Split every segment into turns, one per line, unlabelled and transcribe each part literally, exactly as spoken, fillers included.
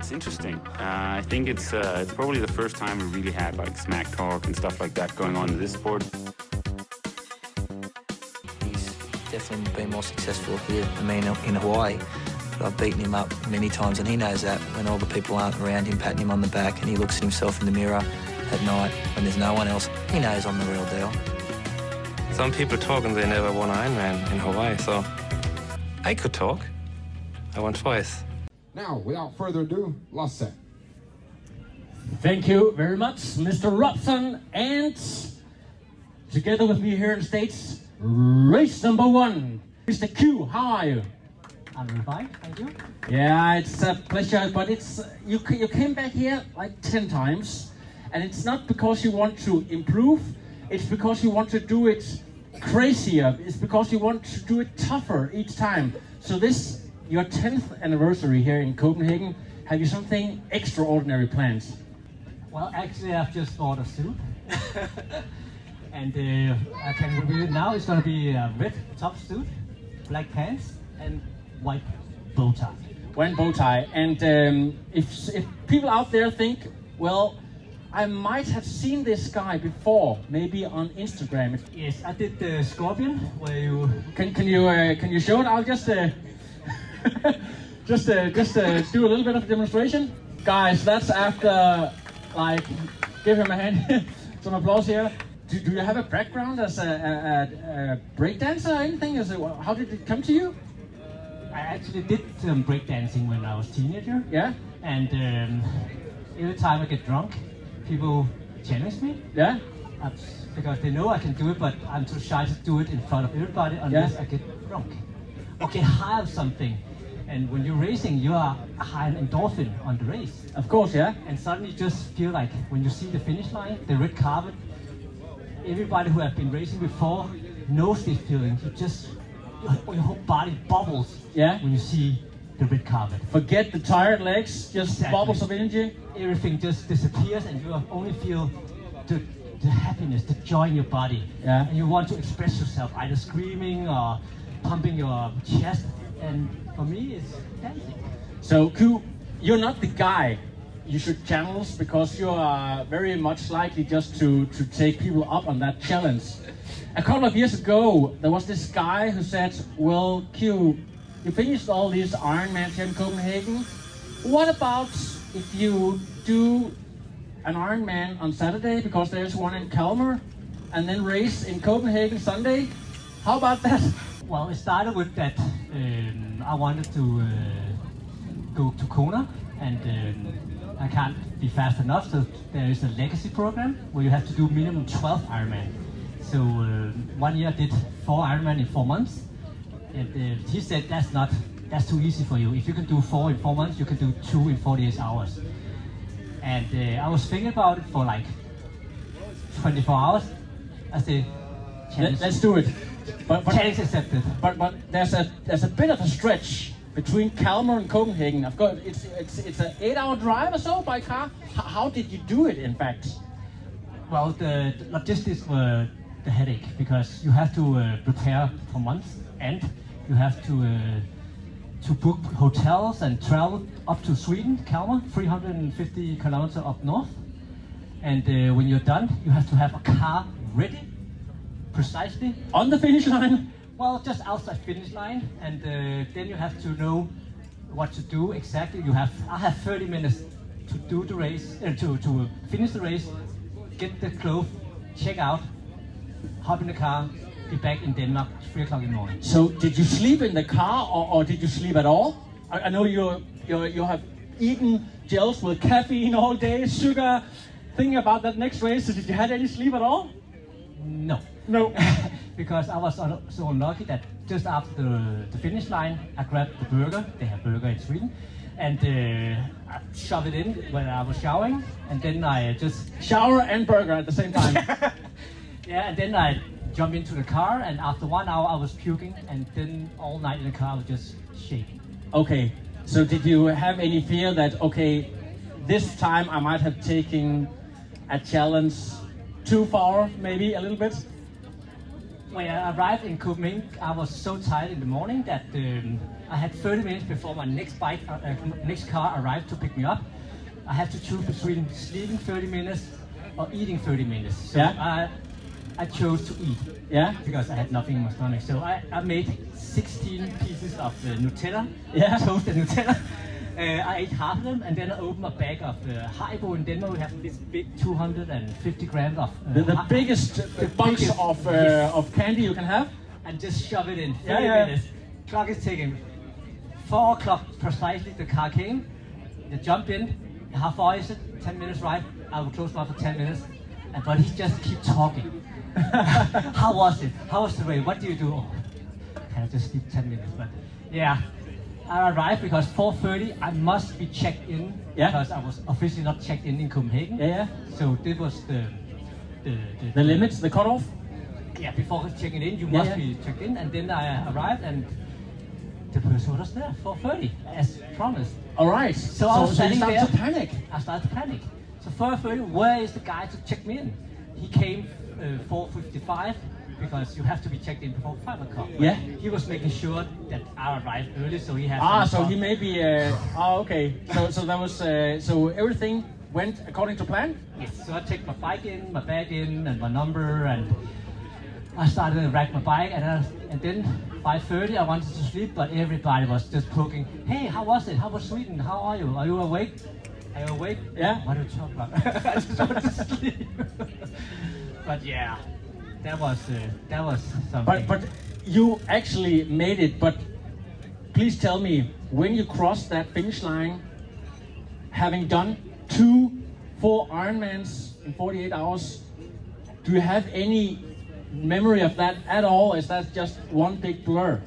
it's interesting. Uh, I think it's uh, it's probably the first time we really had like smack talk and stuff like that going on in this sport.
He's definitely been more successful here than me in, in Hawaii. But I've beaten him up many times, and he knows that when all the people aren't around him patting him on the back, and he looks at himself in the mirror at night when there's no one else, he knows I'm the real deal.
Some people talk and they never won Ironman in Hawaii, so I could talk. I won twice.
Now, without further ado, Lasse.
Thank you very much, Mister Robson, and together with me here in States, race number one, Mister Q. How are you?
I'm fine, thank you.
Yeah, it's a pleasure, but it's you. You came back here like ten times, and it's not because you want to improve. It's because you want to do it crazier. It's because you want to do it tougher each time. So this, your tenth anniversary here in Copenhagen, have you something extraordinary planned?
Well, actually, I've just bought a suit. And uh, I can reveal it now. It's going to be a red top suit, black pants, and white bow tie.
White bow tie. And um, if, if people out there think, well, I might have seen this guy before, maybe on Instagram.
Yes, I did the Scorpion, where you...
Can, can you uh, can you show it? I'll just... Uh, just uh, just uh, do a little bit of a demonstration. Guys, that's after, like, give him a hand, some applause here. Do, do you have a background as a, a, a breakdancer or anything? Is it, how did it come to you?
I actually did some breakdancing when I was a teenager.
Yeah?
And um, every time I get drunk, people challenge me.
Yeah?
Because they know I can do it, but I'm too shy to do it in front of everybody unless
yeah.
I get drunk. Or get high of something. And when you're racing, you are high on endorphin on the race.
Of course, yeah.
And suddenly you just feel like when you see the finish line, the red carpet, everybody who have been racing before knows this feeling. You just, your whole body bubbles
yeah.
when you see the red carpet.
Forget the tired legs, just exactly. bubbles of energy.
Everything just disappears and you only feel the, the happiness, the joy in your body.
Yeah.
And you want to express yourself, either screaming or pumping your chest. And for me, it's dancing.
So, Q, you're not the guy you should challenge because you are very much likely just to, to take people up on that challenge. A couple of years ago, there was this guy who said, well, Q, you finished all these Ironmans here in Copenhagen. What about if you do an Ironman on Saturday, because there's one in Kalmar, and then race in Copenhagen Sunday? How about that?
Well, it started with that um, I wanted to uh, go to Kona, and um, I can't be fast enough, so there is a legacy program where you have to do minimum twelve Ironman. So uh, one year I did four Ironman in four months, and uh, he said that's not, that's too easy for you. If you can do four in four months, you can do two in forty-eight hours. And uh, I was thinking about it for like twenty-four hours. I said,
Let, let's do it. But, but,
challenge accepted.
But but there's a there's a bit of a stretch between Kalmar and Copenhagen. Of course, it's it's it's an eight-hour drive or so by car. H how did you do it, in fact?
Well, the, the logistics were the headache because you have to uh, prepare for months, and you have to uh, to book hotels and travel up to Sweden, Kalmar, three hundred fifty kilometers up north. And uh, when you're done, you have to have a car ready. Precisely.
On the finish line?
Well, just outside finish line, and uh, then you have to know what to do exactly. You have, I have thirty minutes to do the race, uh, to, to finish the race, get the clothes, check out, hop in the car, be back in Denmark three o'clock in the morning.
So did you sleep in the car, or, or did you sleep at all? I, I know you you you have eaten gels with caffeine all day, sugar, thinking about that next race. So did you have any sleep at all?
No.
No.
Because I was so unlucky that just after the, the finish line, I grabbed the burger. They have burger in Sweden. And uh, I shoved it in when I was showering. And then I just...
Shower and burger at the same time.
Yeah, and then I jumped into the car. And after one hour, I was puking. And then all night in the car, I was just shaking.
Okay. So did you have any fear that, okay, this time I might have taken a challenge too far, maybe a little bit?
when I arrived in Copenhagen, I was so tired in the morning that um, I had thirty minutes before my next bike, uh, next car arrived to pick me up. I had to choose between sleeping thirty minutes or eating thirty minutes. So
yeah.
I, I chose to eat.
Yeah.
Because I had nothing in my stomach. So I, I made sixteen pieces of uh, Nutella.
Yeah.
Toasted Nutella. Uh, I ate half of them, and then I opened a bag of uh, Haribo. In Denmark, we have this big two hundred fifty grams of uh,
the, the biggest the box biggest, of uh, yes. of candy you can have,
and just shove it in.
Yeah, yeah.
Minutes. Clock is ticking. Four o'clock precisely. The car came. They jumped in. How far is it? Ten minutes, right? I will close my mouth for ten minutes, and but he just keep talking. How was it? How was the way? What do you do? Oh, can I just sleep ten minutes? But yeah. I arrived because four thirty I must be checked in,
yeah.
because I was officially not checked in in Copenhagen.
Yeah, yeah.
So this was the the, the,
the limits, the cutoff.
Yeah, before checking in, you
yeah,
must
yeah.
be checked in, and then I arrived, and the person was there four thirty as promised.
All right.
So,
so
I was
so
standing
you
there.
started to panic.
I started to panic. So four thirty, where is the guy to check me in? He came uh, four fifty-five. Because you have to be checked in before five o'clock.
Yeah.
He was making sure that I arrived early, so he had.
Ah, so he may be. Uh, oh, okay. So, so that was. Uh, so everything went according to plan.
Yes. So I take my bike in, my bag in, and my number, and I started to rack my bike, and I, and then five thirty I wanted to sleep, but everybody was just poking. Hey, how was it? How was Sweden? How are you? Are you awake? Are you awake?
Yeah.
What are you talking about? I just want to sleep. But yeah. That was uh, that was something.
But but you actually made it. But please tell me, when you crossed that finish line, having done two, four Ironmans in forty-eight hours, do you have any memory of that at all? Is that just one big blur?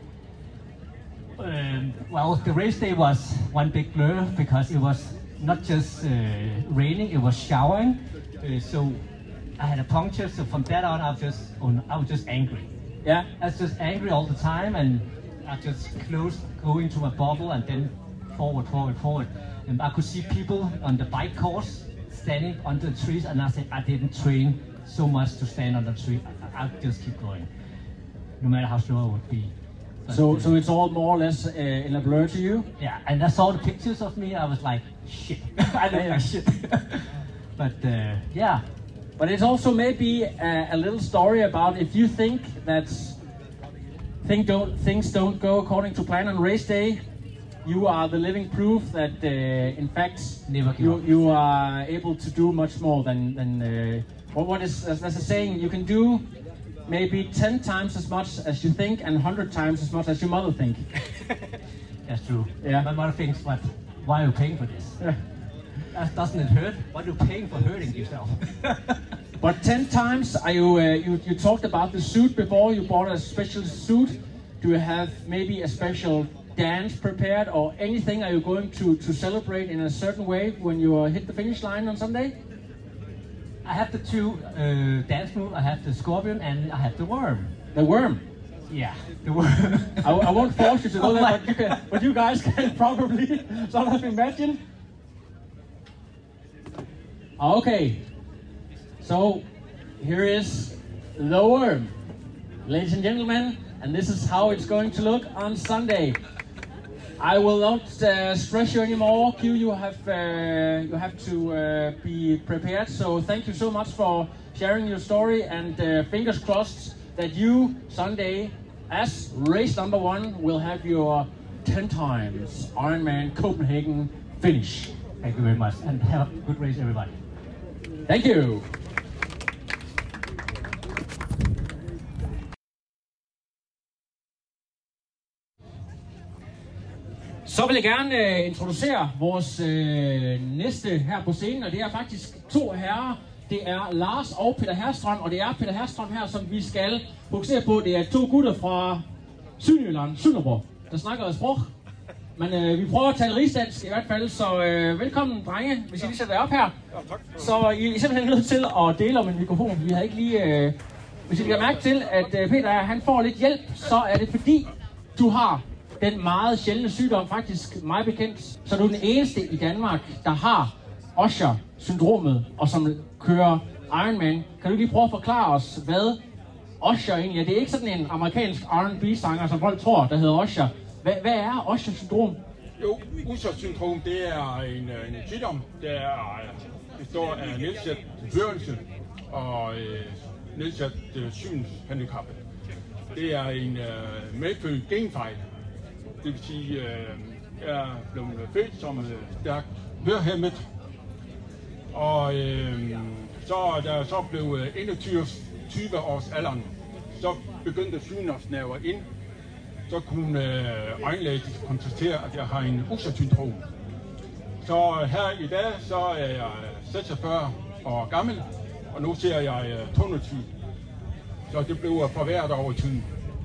Um, well, the race day was one big blur because it was not just uh, raining; it was showering. Uh, so. I had a puncture, so from that on, I was just, I was just angry.
Yeah,
I was just angry all the time, and I just closed, go into my bubble, and then forward, forward, forward. And I could see people on the bike course standing under the trees, and I said, I didn't train so much to stand on the tree. I, I'll just keep going, no matter how slow I would be. But,
so,
uh,
so it's all more or less uh, in a blur to you?
Yeah, and I saw the pictures of me. I was like, shit, I look like shit. But uh, yeah.
But it's also maybe a, a little story about if you think that thing don't, things don't go according to plan on race day, you are the living proof that uh, in fact
Never
you, you are able to do much more than, than uh, what, what is, as, as a saying, you can do maybe ten times as much as you think and one hundred times as much as your mother think.
That's true.
Yeah.
My mother thinks, what, why are you paying for this?
Yeah.
Doesn't it hurt? What are you paying for hurting yourself?
But ten times, are you, uh, you you talked about the suit before. You bought a special suit. Do you have maybe a special dance prepared or anything? Are you going to to celebrate in a certain way when you uh, hit the finish line on Sunday?
I have the two uh, dance moves. I have the scorpion and I have the worm.
The worm.
Yeah, the worm.
I, I won't force you to go there, but you, can, but you guys can probably sort of imagine. Okay, so here is the worm, ladies and gentlemen, and this is how it's going to look on Sunday. I will not uh, stress you anymore. Q, you have uh, you have to uh, be prepared. So thank you so much for sharing your story, and uh, fingers crossed that you Sunday, as race number one, will have your ten times Ironman Copenhagen finish.
Thank you very much, and have a good race, everybody.
Thank you. Så vil jeg gerne uh, introducere vores uh, næste her på scenen, og det er faktisk to herrer. Det er Lars og Peter Herstrøm, og det er Peter Herstrøm her, som vi skal fokusere på. Det er to gutter fra Sydjylland, Sønderborg, der snakker et sprog. Men uh, vi prøver at tale rigsdansk i hvert fald, så uh, velkommen drenge, hvis I lige sætter jer op her. Så I er simpelthen nødt til at dele om en mikrofon. Vi har ikke lige... Uh, hvis I kan mærke til, at uh, Peter han får lidt hjælp, så er det fordi, du har den meget sjældne sygdom, faktisk mig bekendt, så er du den eneste i Danmark, der har Usher-syndromet, og som kører Ironman. Kan du lige prøve at forklare os, hvad Usher egentlig? Ja, det er ikke sådan en amerikansk R and B-sanger, som folk tror, der hedder Usher. Hvad, hvad er Usher-syndrom?
Jo, Usher-syndrom, det er en, en sygdom, der er, består af nedsat hørelse og øh, nedsat øh, synshandicap. Det er en øh, medfødt genfejl. Det vil sige, øh, jeg er blevet født som øh, stærk hørehæmmet. Og øh, så da jeg så blev enogtyve års alderen, så begyndte synsnerver ind. Så kunne øh, øjenlægen konstatere, at jeg har en Usher-syndrom. Så her i dag, så er jeg seksogfyrre år gammel, og nu ser jeg øh, toogtyve. Så det blev forværret over tiden.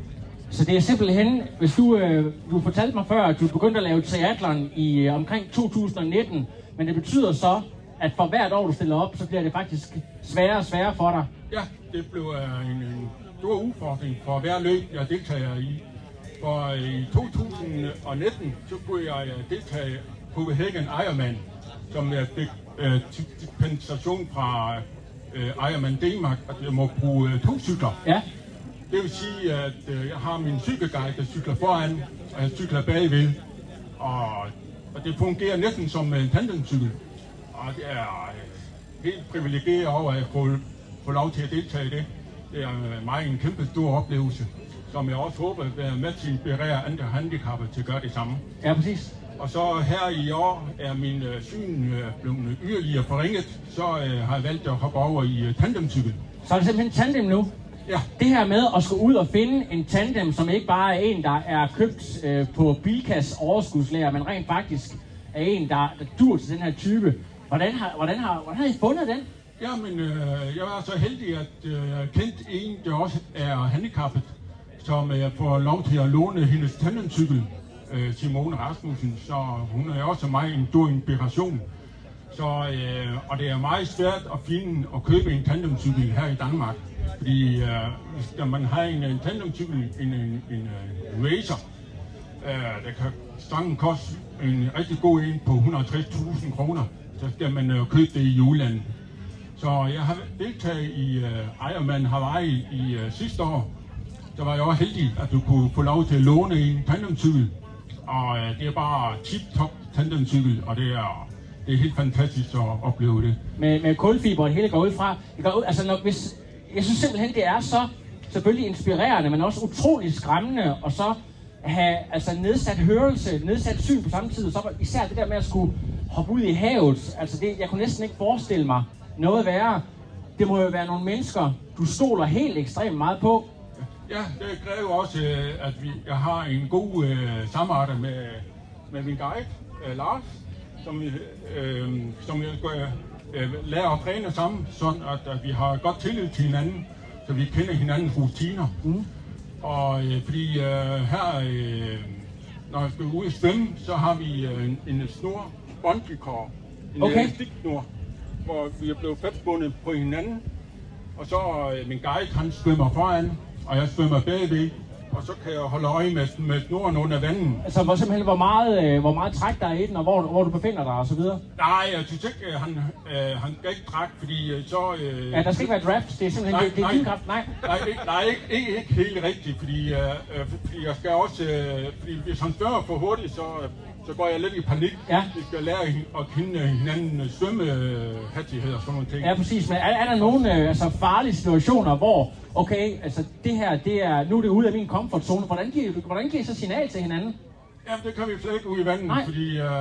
Så det er simpelthen, hvis du, øh, du fortalte mig før, at du begyndte at lave triathlon i øh, omkring to tusind nitten, men det betyder så, at for hvert år du stiller op, så bliver det faktisk sværere og sværere for dig.
Ja, det blev øh, en, en stor udfordring for hver løb, jeg deltager i. For i to tusind nitten, så kunne jeg deltage på Copenhagen Ironman, som jeg fik øh, dispensation fra øh, Ironman Danmark, at jeg må bruge øh, to cykler.
Ja.
Det vil sige, at øh, jeg har min cykelguide, der cykler foran, og jeg cykler bagved. Og, og det fungerer næsten som en tandemcykel. Og det er øh, helt privilegeret over at få, få lov til at deltage i det. Det er øh, mig en kæmpe stor oplevelse, som jeg også håber vil være med til at inspirere andre handicappede til at gøre det samme.
Ja, præcis.
Og så her i år er min øh, syn øh, blevet yderligere forringet, så øh, har jeg valgt at hoppe over i øh, tandemcykel.
Så er det simpelthen tandem nu?
Ja.
Det her med at skulle ud og finde en tandem, som ikke bare er en, der er købt øh, på Bilkas overskudslager, men rent faktisk er en, der, der dur til den her type. Hvordan har, hvordan har, hvordan har I fundet den?
Ja, men øh, jeg var så heldig, at øh, jeg kendte en, der også er handicappet, som jeg får lov til at låne hendes tandemcykel, øh, Simone Rasmussen, så hun er også mig en stor inspiration. Så, øh, og det er meget svært at finde og købe en tandemcykel her i Danmark, fordi øh, hvis man har en, en tandemcykel, en, en, en, en racer, øh, der kan stangen koste en rigtig god en på et hundrede og tres tusind kroner, så skal man øh, købe det i udlandet. Så jeg har deltaget i uh, Ironman Hawaii i uh, sidste år. Så var jeg også heldig, at du kunne få lov til at låne en tandemcykel. Og uh, det er bare tip-top tandemcykel, og det er, det er helt fantastisk at opleve det.
Med, med kulfiber og det hele går ud fra. Det går ud, altså når, hvis, jeg synes simpelthen, det er så selvfølgelig inspirerende, men også utroligt skræmmende, og så have altså, nedsat hørelse, nedsat syn på samme tid. Så især det der med at skulle hoppe ud i havet. Altså det, jeg kunne næsten ikke forestille mig noget værre. Det må jo være nogle mennesker, du stoler helt ekstremt meget på.
Ja, det kræver også, at vi, jeg har en god uh, samarbejde med, med min guide, uh, Lars, som, uh, som jeg skal uh, lære at træne sammen, sådan at, at vi har godt tillid til hinanden, så vi kender hinandens rutiner. Mm. Og uh, fordi uh, her, uh, når jeg skal ud og svømme, så har vi uh, en, en snor, bungee-cord, en
okay.
stiksnor, hvor vi er blevet fastbundet på hinanden, og så øh, min guide, han svømmer foran, og jeg svømmer bagved, og så kan jeg holde øje med, med snoren under vandet.
Altså hvor simpelthen, hvor meget, øh, hvor meget træk der er i den, og hvor, hvor du befinder dig og så videre?
Nej, jeg synes ikke, han, øh, han skal ikke trække, fordi øh, så... Øh,
ja, der skal ikke være draft, det er simpelthen,
nej,
det, det er din kraft, nej.
Nej, ikke, nej ikke, ikke, ikke helt rigtigt, fordi, øh, fordi jeg skal også... Øh, fordi hvis han svømmer for hurtigt, så... så går jeg lidt i panik.
Ja.
Vi skal lære at kende hinanden svømmehastighed og sådan nogle ting.
Ja, præcis. Men er, er der nogle øh, altså farlige situationer, hvor, okay, altså det her, det er, nu er det ude af min comfort-zone. Hvordan giver, hvordan giver I så signal til hinanden?
Ja, det kan vi slet ikke ud i vandet, Nej. fordi øh,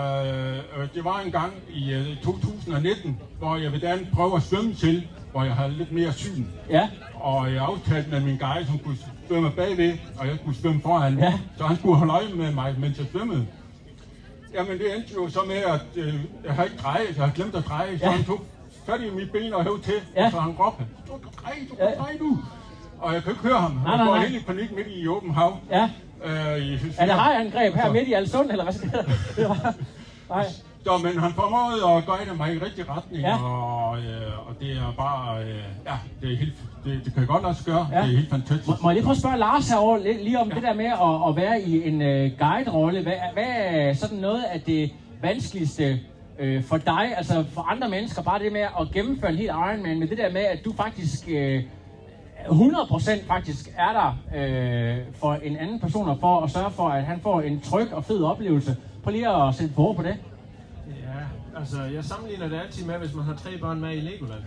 det var en gang i øh, to tusind nitten, hvor jeg vil gerne prøve at svømme til, hvor jeg havde lidt mere syn.
Ja.
Og jeg aftalte med min guide, som kunne svømme bagved, og jeg skulle svømme foran.
Ja.
Så han skulle holde øje med mig, mens jeg svømmede. Jamen det endte jo så med, at øh, jeg har ikke drejet, jeg har glemt at dreje, så ja. han tog fat i mit ben og hæv til, ja. og så han råbte, du kan dreje, du kan ja. dreje nu. Og jeg kan ikke høre ham, nej, jeg går helt i panik midt i åben hav. Ja. Øh, i,
er det hajangreb her så. Midt i Alsund, eller hvad skal det det var? Nej.
Så, men han formåede at guide mig i rigtig retning, ja. og, øh, og det er bare, øh, ja, det er helt, det, det kan jeg godt lade sig gøre, ja. det er helt fantastisk.
Må, må jeg lige prøve at spørge Lars herovre lige om ja. det der med at, at være i en uh, guide-rolle. Hvad, hvad er sådan noget af det vanskeligste øh, for dig, altså for andre mennesker, bare det med at gennemføre en helt Ironman, med det der med, at du faktisk øh, hundrede procent faktisk er der øh, for en anden person for at sørge for, at han får en tryg og fed oplevelse. Prøv lige at sætte på på det.
Ja, altså jeg sammenligner det altid med, hvis man har tre børn med i Legoland.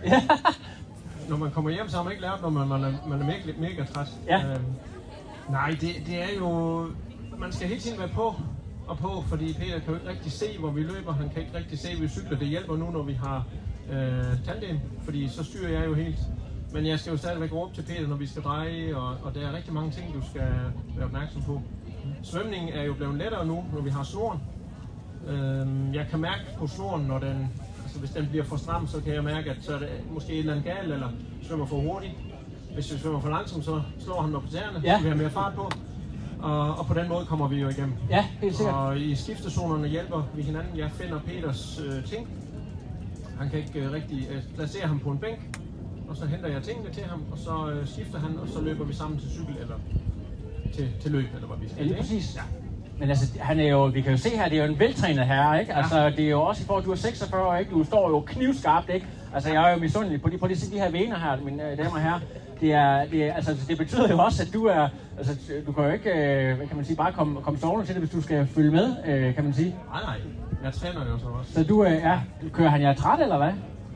Når man kommer hjem, så har man ikke lært, når man, man, er, man er mega, mega træt.
Ja.
Øhm, nej, det, det er jo... Man skal hele tiden være på og på, fordi Peter kan jo ikke rigtig se, hvor vi løber. Han kan ikke rigtig se, hvor vi cykler. Det hjælper nu, når vi har øh, tandem, fordi så styrer jeg jo helt. Men jeg skal jo stadigvæk råbe til Peter, når vi skal dreje, og, og der er rigtig mange ting, du skal være opmærksom på. Svømningen er jo blevet lettere nu, når vi har snoren. Øhm, jeg kan mærke på snoren, når den, altså hvis den bliver for stram, så kan jeg mærke, at så er det måske et eller andet galt, eller svømmer for hurtigt. Hvis vi svømmer for langsomt, så slår han mig på tæerne, ja. Så vi har mere fart på. Og, og på den måde kommer vi jo igennem.
Ja, helt sikkert.
Og i skiftezonerne hjælper vi hinanden. Jeg finder Peters øh, ting. Han kan ikke øh, rigtig øh, placere ham på en bænk. Og så henter jeg tingene til ham, og så øh, skifter han, og så løber vi sammen til cykel, eller til, til løb, eller hvad vi skal.
Ja, lige præcis. Ja. Men altså, han er jo, vi kan jo se her, det er jo en veltrænet herre, ikke? Ja. Altså, det er jo også i forhold, du er seksogfyrre år, ikke? Du står jo knivskarpt, ikke? Altså, jeg er jo misundelig på de, på de, de her vener her, mine damer og herrer. Det er, det er, altså, det betyder jo også, at du er, altså, du kan jo ikke, øh, kan man sige, bare komme, komme sovende til det, hvis du skal følge med, øh, kan man sige.
Nej, nej. Jeg træner jo så også.
Så du, øh, ja, kører han jer træt, eller hvad?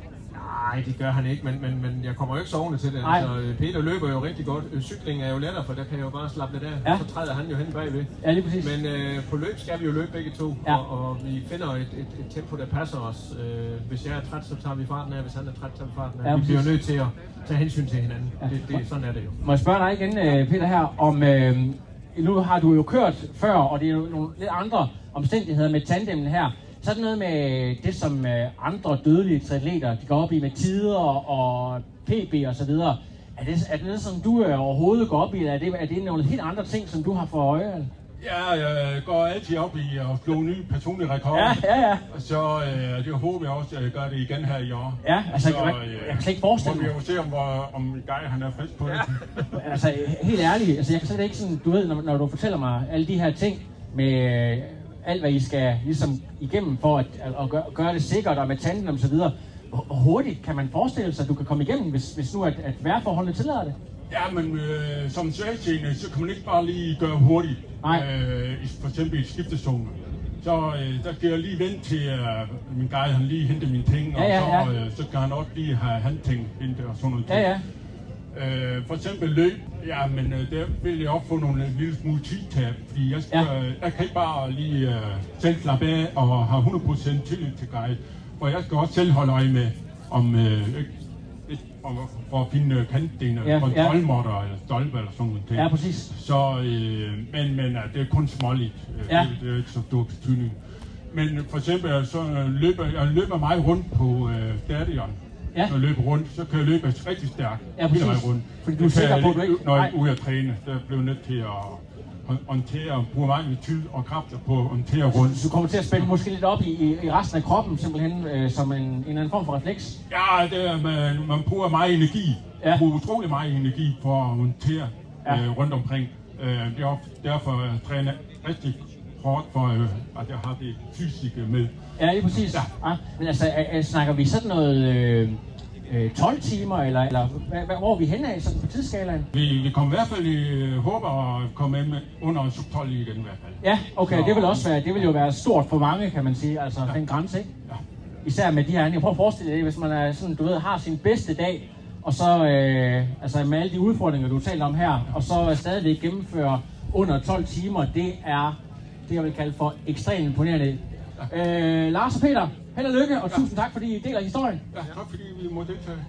Nej, det gør han ikke, men, men, men jeg kommer jo ikke sovende til det. Altså, Peter løber jo rigtig godt. Cykling er jo lettere, for der kan jeg jo bare slappe lidt af. Ja. Så træder han jo hen bagved.
Ja, lige præcis.
Men øh, på løb skal vi jo løbe begge to, ja. og, og vi finder et, et, et tempo, der passer os. Øh, hvis jeg er træt, så tager vi farten af. Hvis han er træt, så tager vi farten af. Ja, vi bliver jo nødt til at tage hensyn til hinanden. Ja. Det, det, sådan er det jo.
Må jeg spørge dig igen, Peter, her, om øh, nu har du jo kørt før, og det er jo nogle lidt andre omstændigheder med tandemmen her. Sådan noget med det, som andre dødelige triatleter, de går op i med tider og P B og så videre. Er det, er det noget, som du overhovedet går op i, eller er det, er det nogle helt andre ting, som du har for øje?
Ja, jeg går altid op i at slå nye personlige rekorder.
Ja, ja, ja.
Så øh, det håber jeg også, at jeg gør det igen her i år.
Ja, altså, så, jeg,
øh,
jeg kan slet ikke forestille mig.
Må vi jo se, om, om Guy han er frisk på det.
Ja. Altså, helt ærligt, altså, jeg kan slet ikke sådan, du ved, når, når du fortæller mig alle de her ting med alt, hvad I skal ligesom igennem for at, at, at gøre, gøre det sikkert og med tanden og så videre. Hvor hurtigt kan man forestille sig, at du kan komme igennem, hvis, hvis nu at, at vejrforholdene tillader det?
Ja, men øh, som svagtseende, så kan man ikke bare lige gøre hurtigt.
Nej.
Øh, for eksempel i skiftezone. Så øh, der skal jeg lige vente til, at uh, min guide han lige henter mine ting, ja, ja, ja. og så, øh, så kan han også lige have han ting hente og sådan noget.
Ja, ja.
Øh, for eksempel løb, ja, men øh, der vil jeg også få nogle øh, lille smule tidtab, fordi jeg, skal, ja. øh, jeg kan ikke bare lige øh, selv slappe af og have hundrede procent tillid til guide, og jeg skal også selv holde øje med, om, øh, et, om for at finde kantdele, ja, kontrolmåtter ja. eller stolpe eller sådan noget.
Ja, præcis.
Så, øh, men, men øh, det er kun småligt, øh, ja. det, det er ikke så stor betydning. Men for eksempel, så løber jeg løber meget rundt på øh, stadion. Ja. Når jeg løber rundt, så kan jeg løbe rigtig stærkt
ja, hele vejen
rundt.
Fordi du er sikker på, at du ikke...
Når jeg er ude at træne, så blev jeg nødt til at håndtere og bruge meget tid og kræfter på at håndtere rundt.
Så du kommer til at spænde måske lidt op i, i resten af kroppen, simpelthen øh, som en, en eller anden form for refleks?
Ja, det er, man, man bruger meget energi. Ja. Man bruger utrolig meget energi for at håndtere ja. øh, rundt omkring. Øh, det er derfor, at jeg træner rigtig hårdt for, øh, at jeg har det fysiske med.
Ja, lige præcis. Ja. Ah, men altså, er, er, snakker vi sådan noget øh, øh, tolv timer, eller, eller hvad, hvor er vi henne af sådan på tidsskalaen?
Vi, vi kommer i hvert fald i håber at komme med under sub tolv igen i hvert fald.
Ja, okay, så, det vil også være, det vil jo være stort for mange, kan man sige, altså ja. Den grænse, ikke? Ja. Især med de her, jeg prøver at forestille dig, hvis man er sådan, du ved, har sin bedste dag, og så øh, altså med alle de udfordringer, du taler om her, ja. Og så stadigvæk gennemføre under tolv timer, det er det, jeg vil kalde for ekstremt imponerende. Ja. Øh, Lars og Peter, held og lykke, og ja. Tusind tak, fordi I deler historien.
Ja, tak fordi vi må deltage.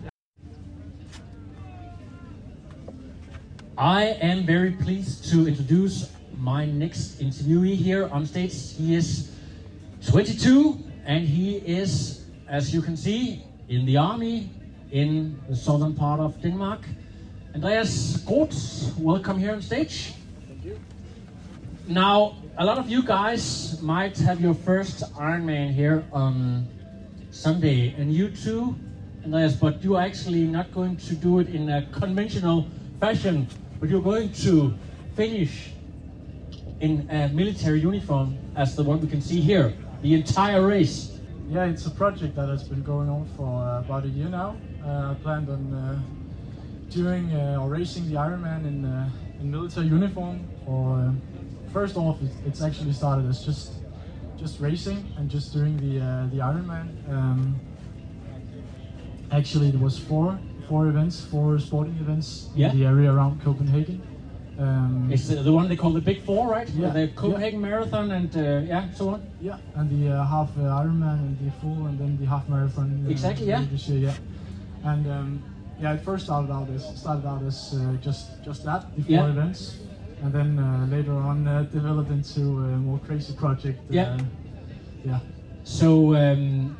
I am very pleased to introduce my next interviewee here on stage. He is twenty-two, and he is, as you can see, in the army in the southern part of Denmark. Andreas Groth, welcome here on stage.
Thank you.
Now, a lot of you guys might have your first Ironman here on Sunday, and you too, Andreas, but you are actually not going to do it in a conventional fashion, but you're going to finish in a military uniform, as the one we can see here, the entire race.
Yeah, it's a project that has been going on for uh, about a year now. Uh, I planned on uh, doing uh, or racing the Ironman in uh, in military uniform. Or uh, first off, it, it's actually started as just just racing and just doing the uh, the Ironman. Um, actually, there was four four events, four sporting events
yeah.
in the area around Copenhagen. Um,
it's uh, the one they call the Big Four, right?
Yeah,
the Copenhagen
yeah.
Marathon and uh, yeah, so on.
Yeah, and the uh, half uh, Ironman and the full, and then the half marathon. Uh,
exactly, yeah.
This year, yeah. And um, yeah, it first started out as started out as uh, just just that, the four
yeah.
events, and then uh, later on uh, developed into a more crazy project. Uh,
yeah.
Yeah.
So um,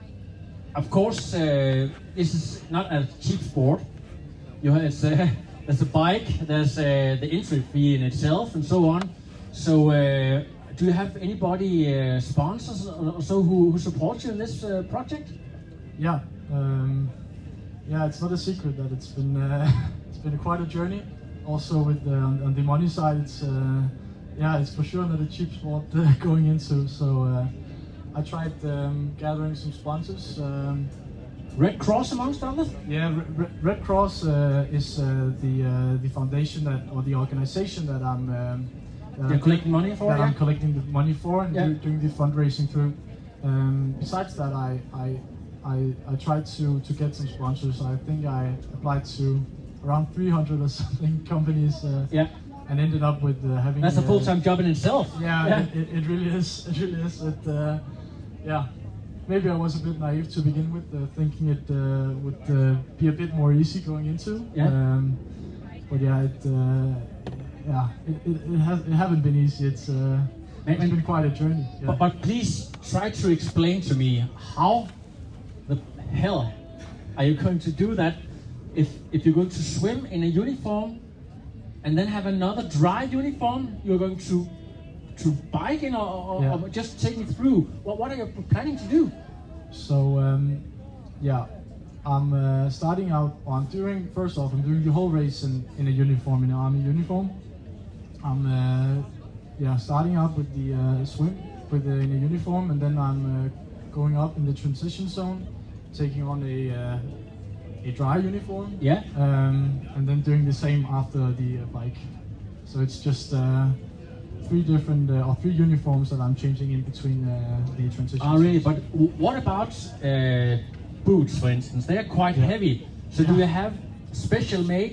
of course, uh, this is not a cheap sport. You know, it's uh, there's a bike, there's uh, the entry fee in itself, and so on. So, uh, do you have anybody uh, sponsors or so who, who support you in this uh, project?
Yeah, um, yeah. It's not a secret that it's been uh, it's been quite a journey. Also, with the, on, on the money side, it's uh, yeah, it's for sure not a cheap sport uh, going into. So, uh, I tried um, gathering some sponsors. Um,
Red Cross amongst others?
Yeah, Red, Red Cross uh, is uh, the uh, the foundation that, or the organization that I'm um, that
You're
I'm
collecting money for.
That
yeah?
I'm collecting the money for and
yeah.
do, doing the fundraising through. Um, besides that, I I, I I tried to to get some sponsors. I think I applied to around three hundred or something companies. Uh,
yeah.
And ended up with uh, having.
That's a
uh,
full-time job in itself.
Yeah,
yeah.
It, it, it really is. It really is. It, uh, yeah. Maybe I was a bit naive to begin with, uh, thinking it uh, would uh, be a bit more easy going into.
Yeah.
Um, but yeah, it uh, yeah it, it, it has it haven't been easy. It's uh, it's been quite a journey. Yeah.
But, but please try to explain to me how the hell are you going to do that if if you're going to swim in a uniform and then have another dry uniform you're going to. to bike in, or, or,
yeah.
or just take me through? What, what are you planning to do?
So, um, yeah, I'm uh, starting out, or I'm doing, first off, I'm doing the whole race in, in a uniform, in an army uniform. I'm, uh, yeah, starting out with the uh, swim with the, in a uniform, and then I'm uh, going up in the transition zone, taking on a, uh, a dry uniform.
Yeah.
Um, and then doing the same after the uh, bike. So it's just, uh, three different uh, or three uniforms that I'm changing in between uh, the transitions.
Oh, really? But w what about uh, boots, for instance? They are quite
yeah.
heavy. So
yeah.
do you have special made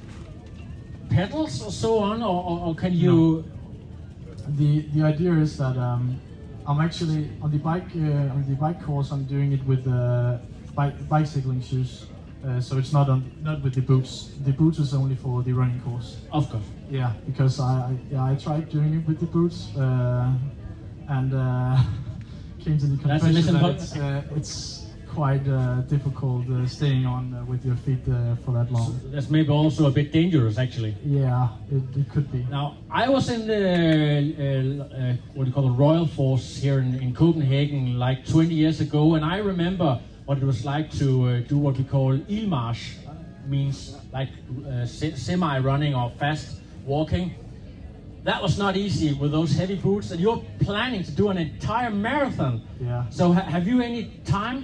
pedals or so on, or, or, or can you?
No. The the idea is that um, I'm actually on the bike uh, on the bike course. I'm doing it with uh, bike bicycling shoes. Uh, so it's not on not with the boots. The boots is only for the running course.
Of course.
Yeah, because I, I yeah I tried doing it with the boots uh, and uh, came to the conclusion that it's, uh, it's quite uh, difficult uh, staying on uh, with your feet uh, for that long.
So that's maybe also a bit dangerous, actually.
Yeah, it, it could be.
Now, I was in the uh, uh, what do you call the Royal Force here in, in Copenhagen like twenty years ago, and I remember what it was like to uh, do what we call ilmarch, means like uh, se semi-running or fast walking. That was not easy with those heavy boots, and you're planning to do an entire marathon.
Yeah.
So ha have you any time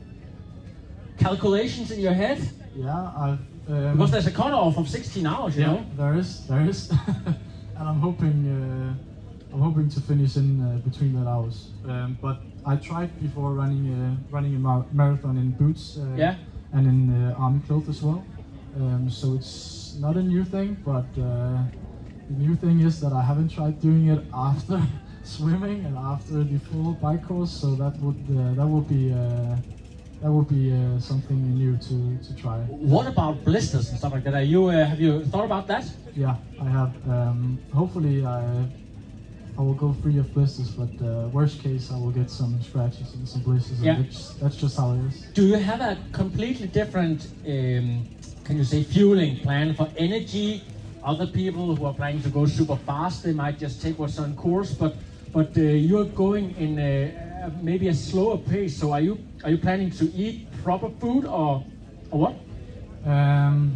calculations in your head?
Yeah, I've... Um,
because there's a cutoff of sixteen hours, you
yeah,
know?
there is, there is. And I'm hoping, uh, I'm hoping to finish in uh, between that hours. Um, but I tried before running uh, running a mar marathon in boots uh,
yeah.
and in uh, army clothes as well. Um, so it's not a new thing, but uh, the new thing is that I haven't tried doing it after swimming and after the full bike course. So that would uh, that would be uh, that would be uh, something new to to try.
What about blisters and stuff like that? Are you uh, have you thought about that?
Yeah, I have. Um, hopefully, I. I will go free of blisters, but uh, worst case, I will get some scratches and some blisters.
Yeah.
And that's, that's just how it is.
Do you have a completely different, um, can you say, fueling plan for energy? Other people who are planning to go super fast, they might just take what's on course, but but uh, you're going in a, maybe a slower pace. So are you are you planning to eat proper food or or what?
Um,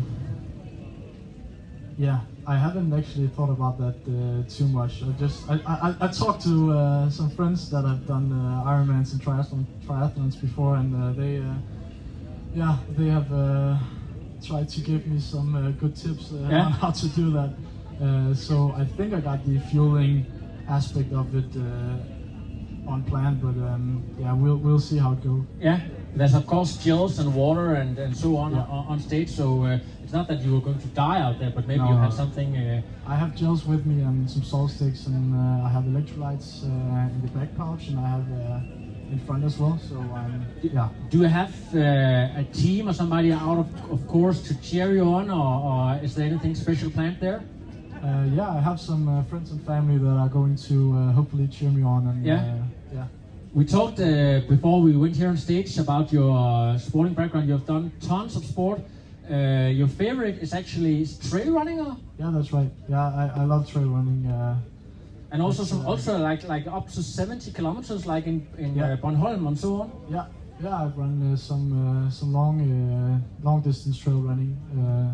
yeah. I haven't actually thought about that uh, too much. I just I, I, I talked to uh, some friends that have done uh, Ironmans and triathlon, triathlons before, and uh, they uh, yeah they have uh, tried to give me some uh, good tips uh,
Yeah.
on how to do that. Uh, so I think I got the fueling aspect of it uh, on plan, but um, yeah, we'll we'll see how it goes.
Yeah, there's of course gels and water and, and so on
Yeah.
on, on stage, so uh, it's not that you were going to die out there, but maybe
No,
you
no.
had something... Uh,
I have gels with me and some salt sticks, and uh, I have electrolytes uh, in the back pouch, and I have uh, in front as well. So um, yeah.
do you have uh, a team or somebody out of, of course to cheer you on, or, or is there anything special planned there?
Uh, yeah, I have some uh, friends and family that are going to uh, hopefully cheer me on, and
Yeah.
uh, yeah.
We talked uh, before we went here on stage about your uh, sporting background. You've done tons of sport. Uh, your favorite is actually trail running, or?
Yeah, that's right. Yeah, I, I love trail running. Uh,
And also
It's,
some
uh,
ultra, like like up to seventy kilometers, like in in
Yeah.
uh, Bornholm and so on.
yeah, yeah, I've run uh, some uh, some long uh, long distance trail running. Uh,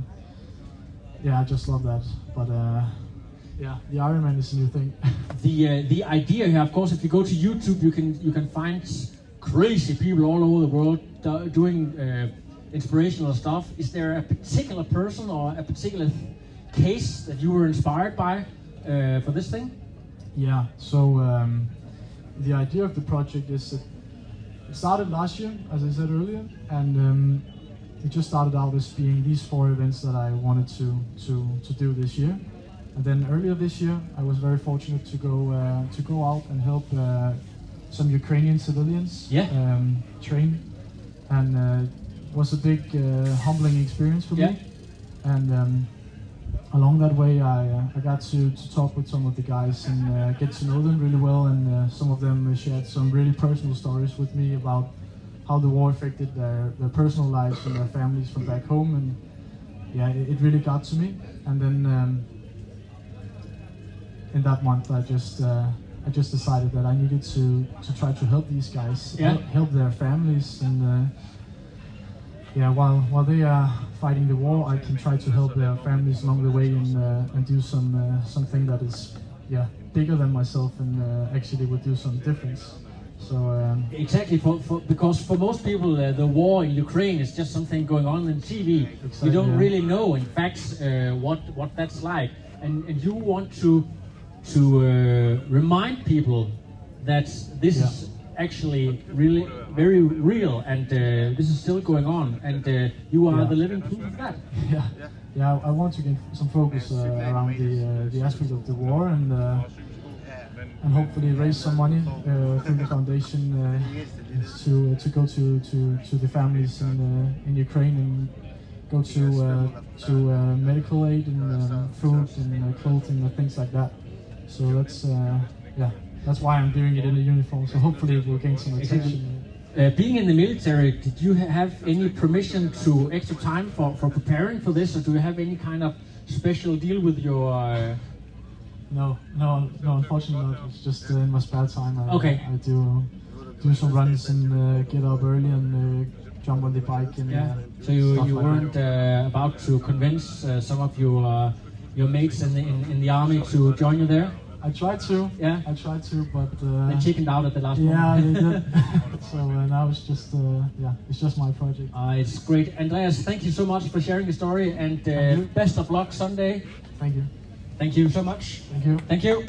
yeah, I just love that. But uh, yeah, the Ironman is a new thing.
The uh, the idea here, of course, if you go to YouTube, you can you can find crazy people all over the world do, doing uh, inspirational stuff. Is there a particular person or a particular case that you were inspired by uh, for this thing?
Yeah, so um, the idea of the project is that it started last year, as I said earlier, and um, it just started out as being these four events that I wanted to to to do this year. And then earlier this year, I was very fortunate to go uh, to go out and help uh, some Ukrainian civilians
Yeah.
um, train, and uh, it was a big uh, humbling experience for
Yeah.
me. And um, along that way, I uh, I got to, to talk with some of the guys and uh, get to know them really well, and uh, some of them shared some really personal stories with me about how the war affected their, their personal lives and their families from back home, and yeah, it, it really got to me. And then um, in that month, I just uh, I just decided that I needed to to try to help these guys,
Yeah.
help, help their families, and uh, yeah, while while they are fighting the war, I can try to help their families along the way, and uh, and do some uh, something that is yeah bigger than myself, and uh, actually would do some difference. So um,
Exactly, for, for because for most people, uh, the war in Ukraine is just something going on in T V.
Exactly,
You don't
yeah.
really know, in fact, uh, what what that's like, and and you want to to uh, remind people that this
Yeah.
is actually really very real, and uh, this is still going on, and uh, you are
Yeah.
the living proof of that.
yeah, yeah, I want to get some focus uh, around the uh, the aspect of the war, and uh, and hopefully raise some money uh, through the foundation uh, to uh, to go to, to, to the families in uh, in Ukraine, and go to uh, to uh, medical aid and um, food and uh, clothing and things like that. So that's uh, yeah, that's why I'm doing it in a uniform. So hopefully it will gain some attention.
Uh, being in the military, did you ha- have any permission to extra time for, for preparing for this, or do you have any kind of special deal with your? Uh,
No, no, no. Unfortunately, not. It's just uh, in my spare time. I,
Okay.
I do do some runs and uh, get up early and uh, jump on the bike and.
Yeah.
Uh,
So you,
stuff
you
like
weren't
that.
uh, about to convince uh, some of your uh, your mates in the in, in the army to join you there?
I tried to.
Yeah.
I tried to, but. Uh,
They chickened out at the last
Yeah,
moment.
they did. So uh, now it's just uh, yeah, it's just my project.
Uh, it's great. Andreas, thank you so much for sharing the story, and uh,
Thank you.
best of luck Sunday.
Thank you.
Thank you so much.
Thank you.
Thank you.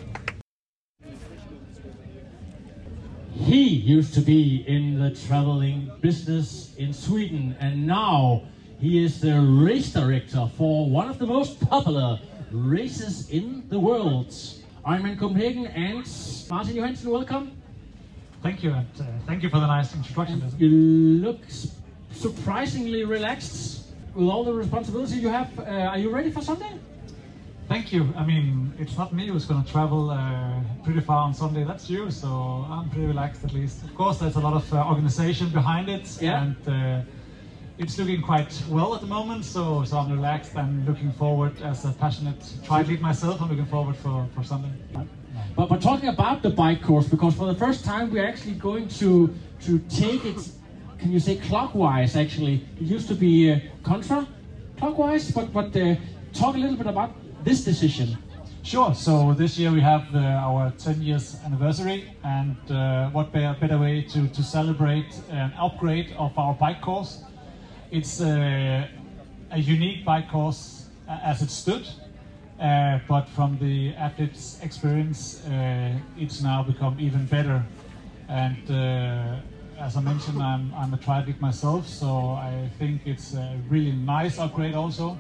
He used to be in the traveling business in Sweden, and now he is the race director for one of the most popular races in the world. Ironman Copenhagen, and Martin Johansen, welcome.
Thank you, and uh, thank you for the nice introduction.
You look s- surprisingly relaxed with all the responsibility you have. Uh, are you ready for Sunday?
Thank you. I mean, it's not me who's going to travel uh, pretty far on Sunday, that's you, so I'm pretty relaxed at least. Of course, there's a lot of uh, organization behind it,
Yeah.
and uh, it's looking quite well at the moment, so, so I'm relaxed. I'm looking forward, as a passionate triathlete myself, I'm looking forward for, for Sunday.
But, but talking about the bike course, because for the first time we're actually going to to take it, can you say clockwise actually? It used to be uh, contra clockwise, but, but uh, talk a little bit about this decision.
Sure. So this year we have uh, our ten years anniversary, and uh, what better, better way to, to celebrate an upgrade of our bike course? It's uh, a unique bike course uh, as it stood, uh, but from the athletes' experience, uh, it's now become even better. And uh, as I mentioned, I'm, I'm a triathlete myself, so I think it's a really nice upgrade also.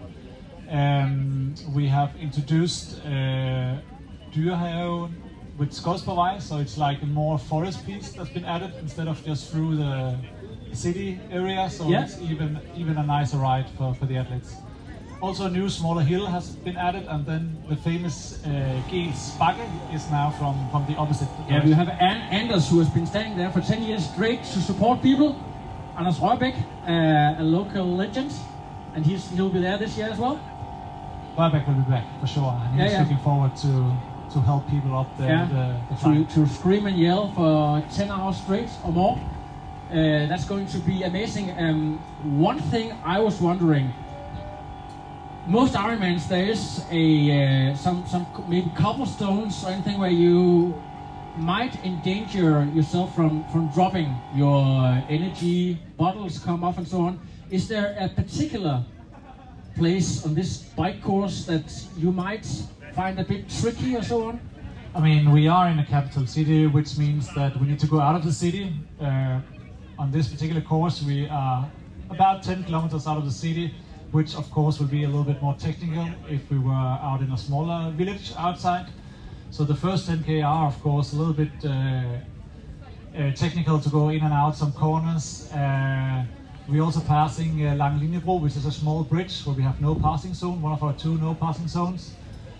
Um, we have introduced uh, Dyrehaven with Skodsborgvej, so it's like a more forest piece that's been added instead of just through the city area, so yeah. It's even even a nicer ride for, for the athletes. Also a new smaller hill has been added, and then the famous uh, Geels Bakke is now from, from the opposite direction.
Yeah, we have An Anders, who has been standing there for ten years straight to support people. Anders Rørbæk, uh, a local legend, and he's, he'll be there this year as well.
Rørbæk will be back, for sure, and he's yeah, yeah. looking forward to to help people up there.
Yeah,
the, the
to, to scream and yell for ten hours straight or more. Uh, that's going to be amazing. Um, one thing I was wondering, most Ironmans there is a uh, some some maybe cobblestones or anything where you might endanger yourself from from dropping. Your energy bottles come off and so on. Is there a particular place on this bike course that you might find a bit tricky or so on?
I mean, we are in a capital city, which means that we need to go out of the city. Uh, on this particular course, we are about ten kilometers out of the city, which of course will be a little bit more technical if we were out in a smaller village outside. So the first ten K are of course a little bit uh, uh, technical to go in and out some corners. Uh, we're also passing uh, Langlinjebro, which is a small bridge where we have no passing zone, one of our two no passing zones.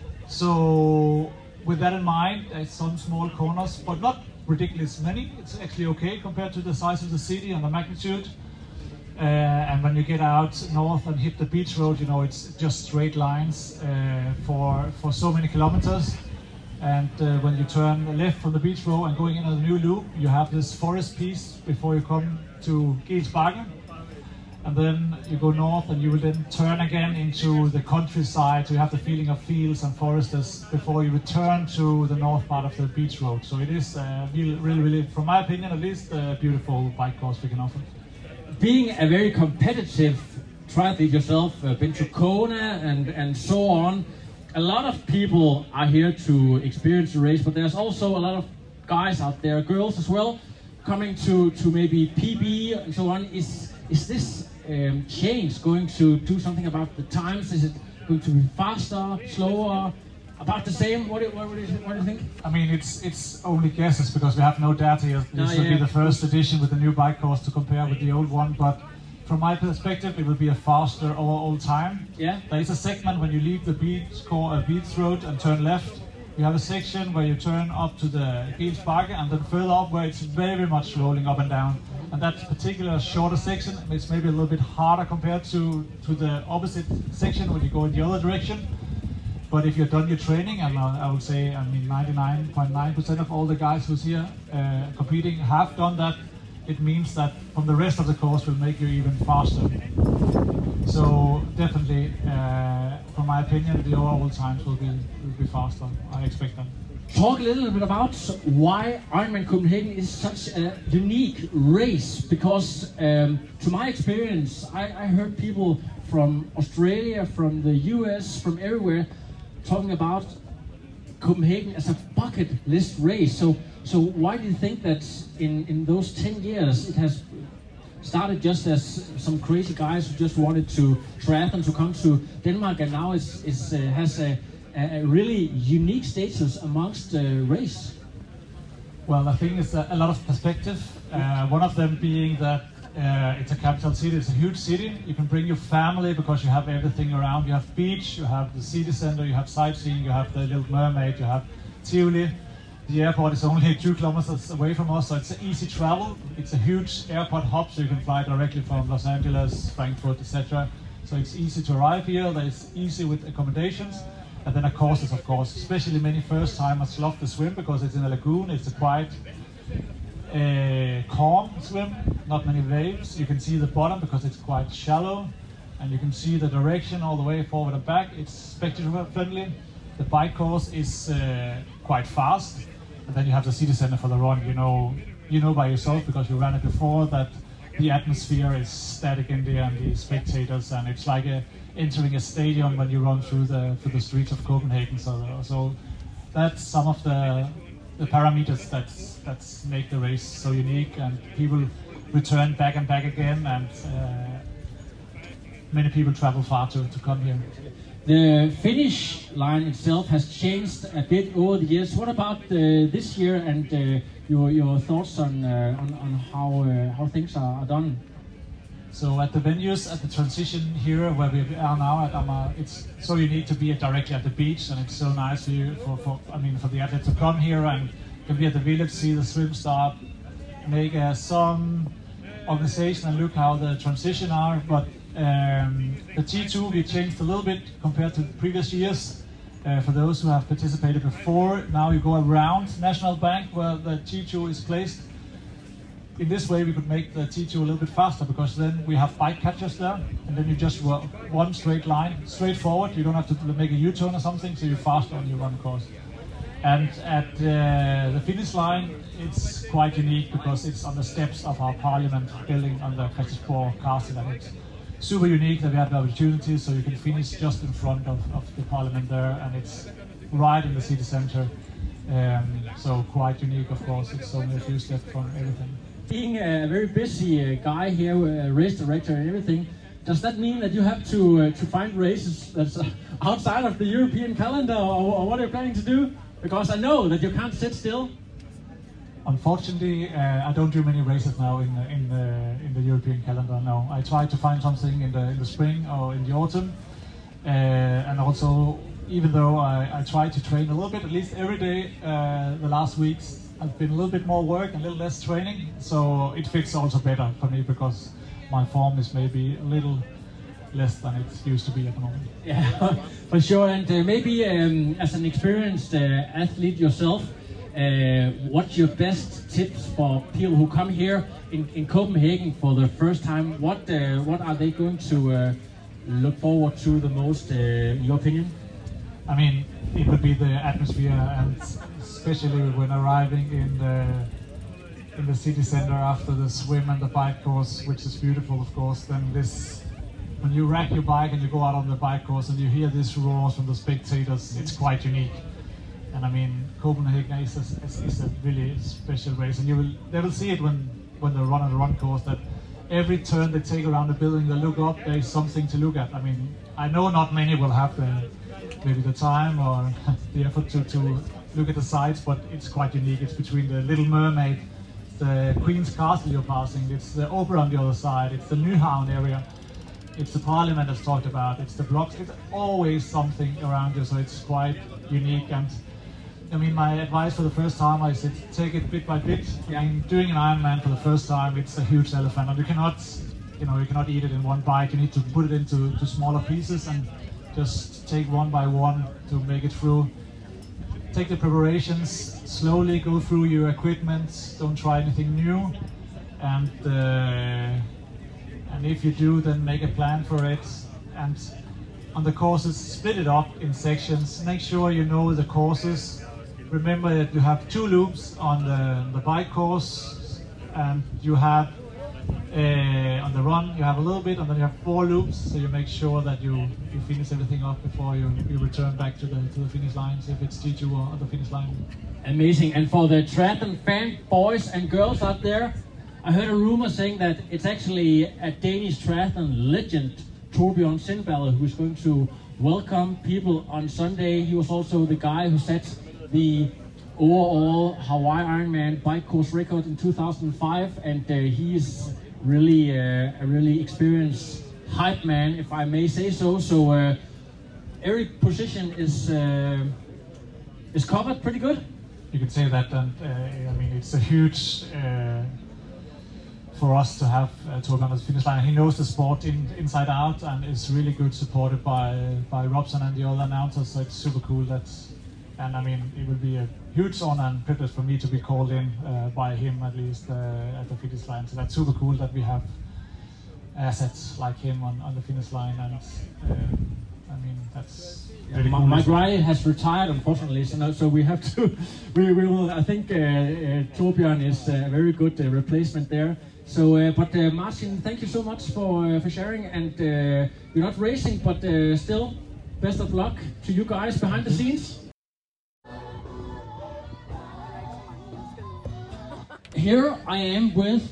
So with that in mind, there's some small corners, but not ridiculous many. It's actually okay compared to the size of the city and the magnitude. Uh, and when you get out north and hit the beach road, you know, it's just straight lines uh, for for so many kilometers. And uh, when you turn left from the beach road and going into the new loop, you have this forest piece before you come to Geels Bakke. And then you go north and you will then turn again into the countryside, so you have the feeling of fields and forests before you return to the north part of the beach road. So it is uh, really, really, really, from my opinion at least, a beautiful bike course we can offer.
Being a very competitive triathlete yourself, uh, been to Kona and, and so on, a lot of people are here to experience the race, but there's also a lot of guys out there, girls as well, coming to, to maybe P B and so on. Is, is this um, change going to do something about the times? Is it going to be faster, slower, about the same? What do, what, do you, what do you think?
I mean, it's it's only guesses because we have no data yet. This
no,
will
yeah,
be the first edition with the new bike course to compare with the old one, but from my perspective, it will be a faster overall time.
Yeah.
There is a segment when you leave the beach, core, uh, beach road and turn left. You have a section where you turn up to the Geels Bakke and then further up where it's very much rolling up and down. And that particular shorter section is maybe a little bit harder compared to, to the opposite section when you go in the other direction. But if you've done your training, and I would say, I mean, ninety-nine point nine percent of all the guys who's here uh, competing have done that, it means that from the rest of the course will make you even faster. So definitely, uh, from my opinion, the overall times will be will be faster. I expect them.
Talk a little bit about why Ironman Copenhagen is such a unique race, because um, to my experience, I, I heard people from Australia, from the U S, from everywhere, talking about Copenhagen as a bucket list race. So, so why do you think that in, in those ten years it has started just as some crazy guys who just wanted to triathlon to come to Denmark, and now it's, it's, uh, has a, a really unique status amongst the race?
Well, I think it's a, a lot of perspective. Uh, one of them being that uh, it's a capital city, it's a huge city. You can bring your family because you have everything around. You have beach, you have the city center, you have sightseeing, you have the Little Mermaid, you have Tivoli. The airport is only two kilometers away from us, so it's easy travel. It's a huge airport hub, so you can fly directly from Los Angeles, Frankfurt, et cetera. So it's easy to arrive here. It's easy with accommodations. And then of course, of course, especially many first timers love to swim because it's in a lagoon. It's a quite uh, calm swim, not many waves. You can see the bottom because it's quite shallow, and you can see the direction all the way forward and back. It's spectator friendly. The bike course is uh, quite fast, and then you have the city center for the run. You know, you know by yourself because you ran it before that the atmosphere is static in there and the spectators, and it's like a, entering a stadium when you run through the through the streets of Copenhagen. So, so that's some of the the parameters that's that's make the race so unique, and people return back and back again, and uh, many people travel far to, to come here.
The finish line itself has changed a bit over the years. What about uh, this year, and uh, your your thoughts on uh, on, on how uh, how things are, are done?
So at the venues, at the transition here where we are now at Amager, it's so unique to be directly at the beach, and it's so nice for you, for, for I mean for the athletes to come here and can be at the village, see the swim start, make uh, some organization and look how the transition are. But um, the T two we changed a little bit compared to the previous years. Uh, for those who have participated before, now you go around National Bank where the T two is placed. In this way we could make the T two a little bit faster, because then we have bike catchers there, and then you just run one straight line, straight forward. You don't have to make a U-turn or something, so you're faster on your run course. And at uh, the finish line, it's quite unique because it's on the steps of our parliament building on the Christiansborg Castle, and it's super unique that we have the opportunity, so you can finish just in front of, of the parliament there, and it's right in the city center. Um, so quite unique, of course. It's only a few steps from everything.
Being a very busy uh, guy here, uh, race director and everything, does that mean that you have to uh, to find races that's uh, outside of the European calendar, or, or what are you planning to do? Because I know that you can't sit still.
Unfortunately, uh, I don't do many races now in the, in the in the European calendar. No, I try to find something in the in the spring or in the autumn, uh, and also even though I, I try to train a little bit, at least every day, uh, the last weeks. I've been a little bit more work and a little less training, so it fits also better for me because my form is maybe a little less than it used to be at the moment.
Yeah, for sure. And uh, maybe um, as an experienced uh, athlete yourself, uh, what's your best tips for people who come here in, in Copenhagen for the first time? What uh, what are they going to uh, look forward to the most, uh, in your opinion?
I mean, it would be the atmosphere, and especially when arriving in the in the city center after the swim and the bike course, which is beautiful, of course. Then this, when you rack your bike and you go out on the bike course and you hear this roar from the spectators, it's quite unique. And I mean, Copenhagen is a, is, is a really special race, and you will they will see it when when they run on the run course, that every turn they take around the building, they look up, there is something to look at. I mean, I know not many will have the maybe the time or the effort to, to look at the sides, but it's quite unique. It's between the Little Mermaid, the Queen's Castle you're passing, it's the Opera on the other side, it's the Nyhavn area, it's the Parliament as talked about, it's the blocks, it's always something around you, so it's quite unique. And I mean, my advice for the first time, I said, take it bit by bit. I mean, doing an Ironman for the first time, it's a huge elephant, and you cannot, you know, you cannot eat it in one bite. You need to put it into to smaller pieces and just take one by one to make it through. Take the preparations slowly, go through your equipment, don't try anything new, and uh, and if you do, then make a plan for it. And on the courses, split it up in sections. Make sure you know the courses. Remember that you have two loops on the, the bike course, and you have uh, on the run you have a little bit, and then you have four loops. So you make sure that you, you finish everything up before you, you return back to the to the finish lines, if it's T two or the finish line.
Amazing. And for the triathlon fan boys and girls out there, I heard a rumor saying that it's actually a Danish triathlon legend, Torbjørn Sindballe, who's going to welcome people on Sunday. He was also the guy who set the overall Hawaii Ironman bike course record in two thousand five, and uh, he is really uh, a really experienced hype man, if I may say so. So uh, every position is uh, is covered pretty good.
You could say that, and uh, I mean, it's a huge uh, for us to have uh, Torbjørn on the finish line. He knows the sport in, inside out, and is really good supported by by Robson and the other announcers. So it's super cool that. And I mean, it will be a huge honor and privilege for me to be called in uh, by him, at least uh, at the finish line. So that's super cool that we have assets like him on, on the finish line. And uh, I mean, that's really
yeah,
cool.
My guy has retired, unfortunately, so, no, so we have to. We, we will. I think uh, uh, Torbjørn is a very good uh, replacement there. So, uh, but uh, Martin, thank you so much for uh, for sharing. And uh, you're not racing, but uh, still, best of luck to you guys behind the scenes. Here I am with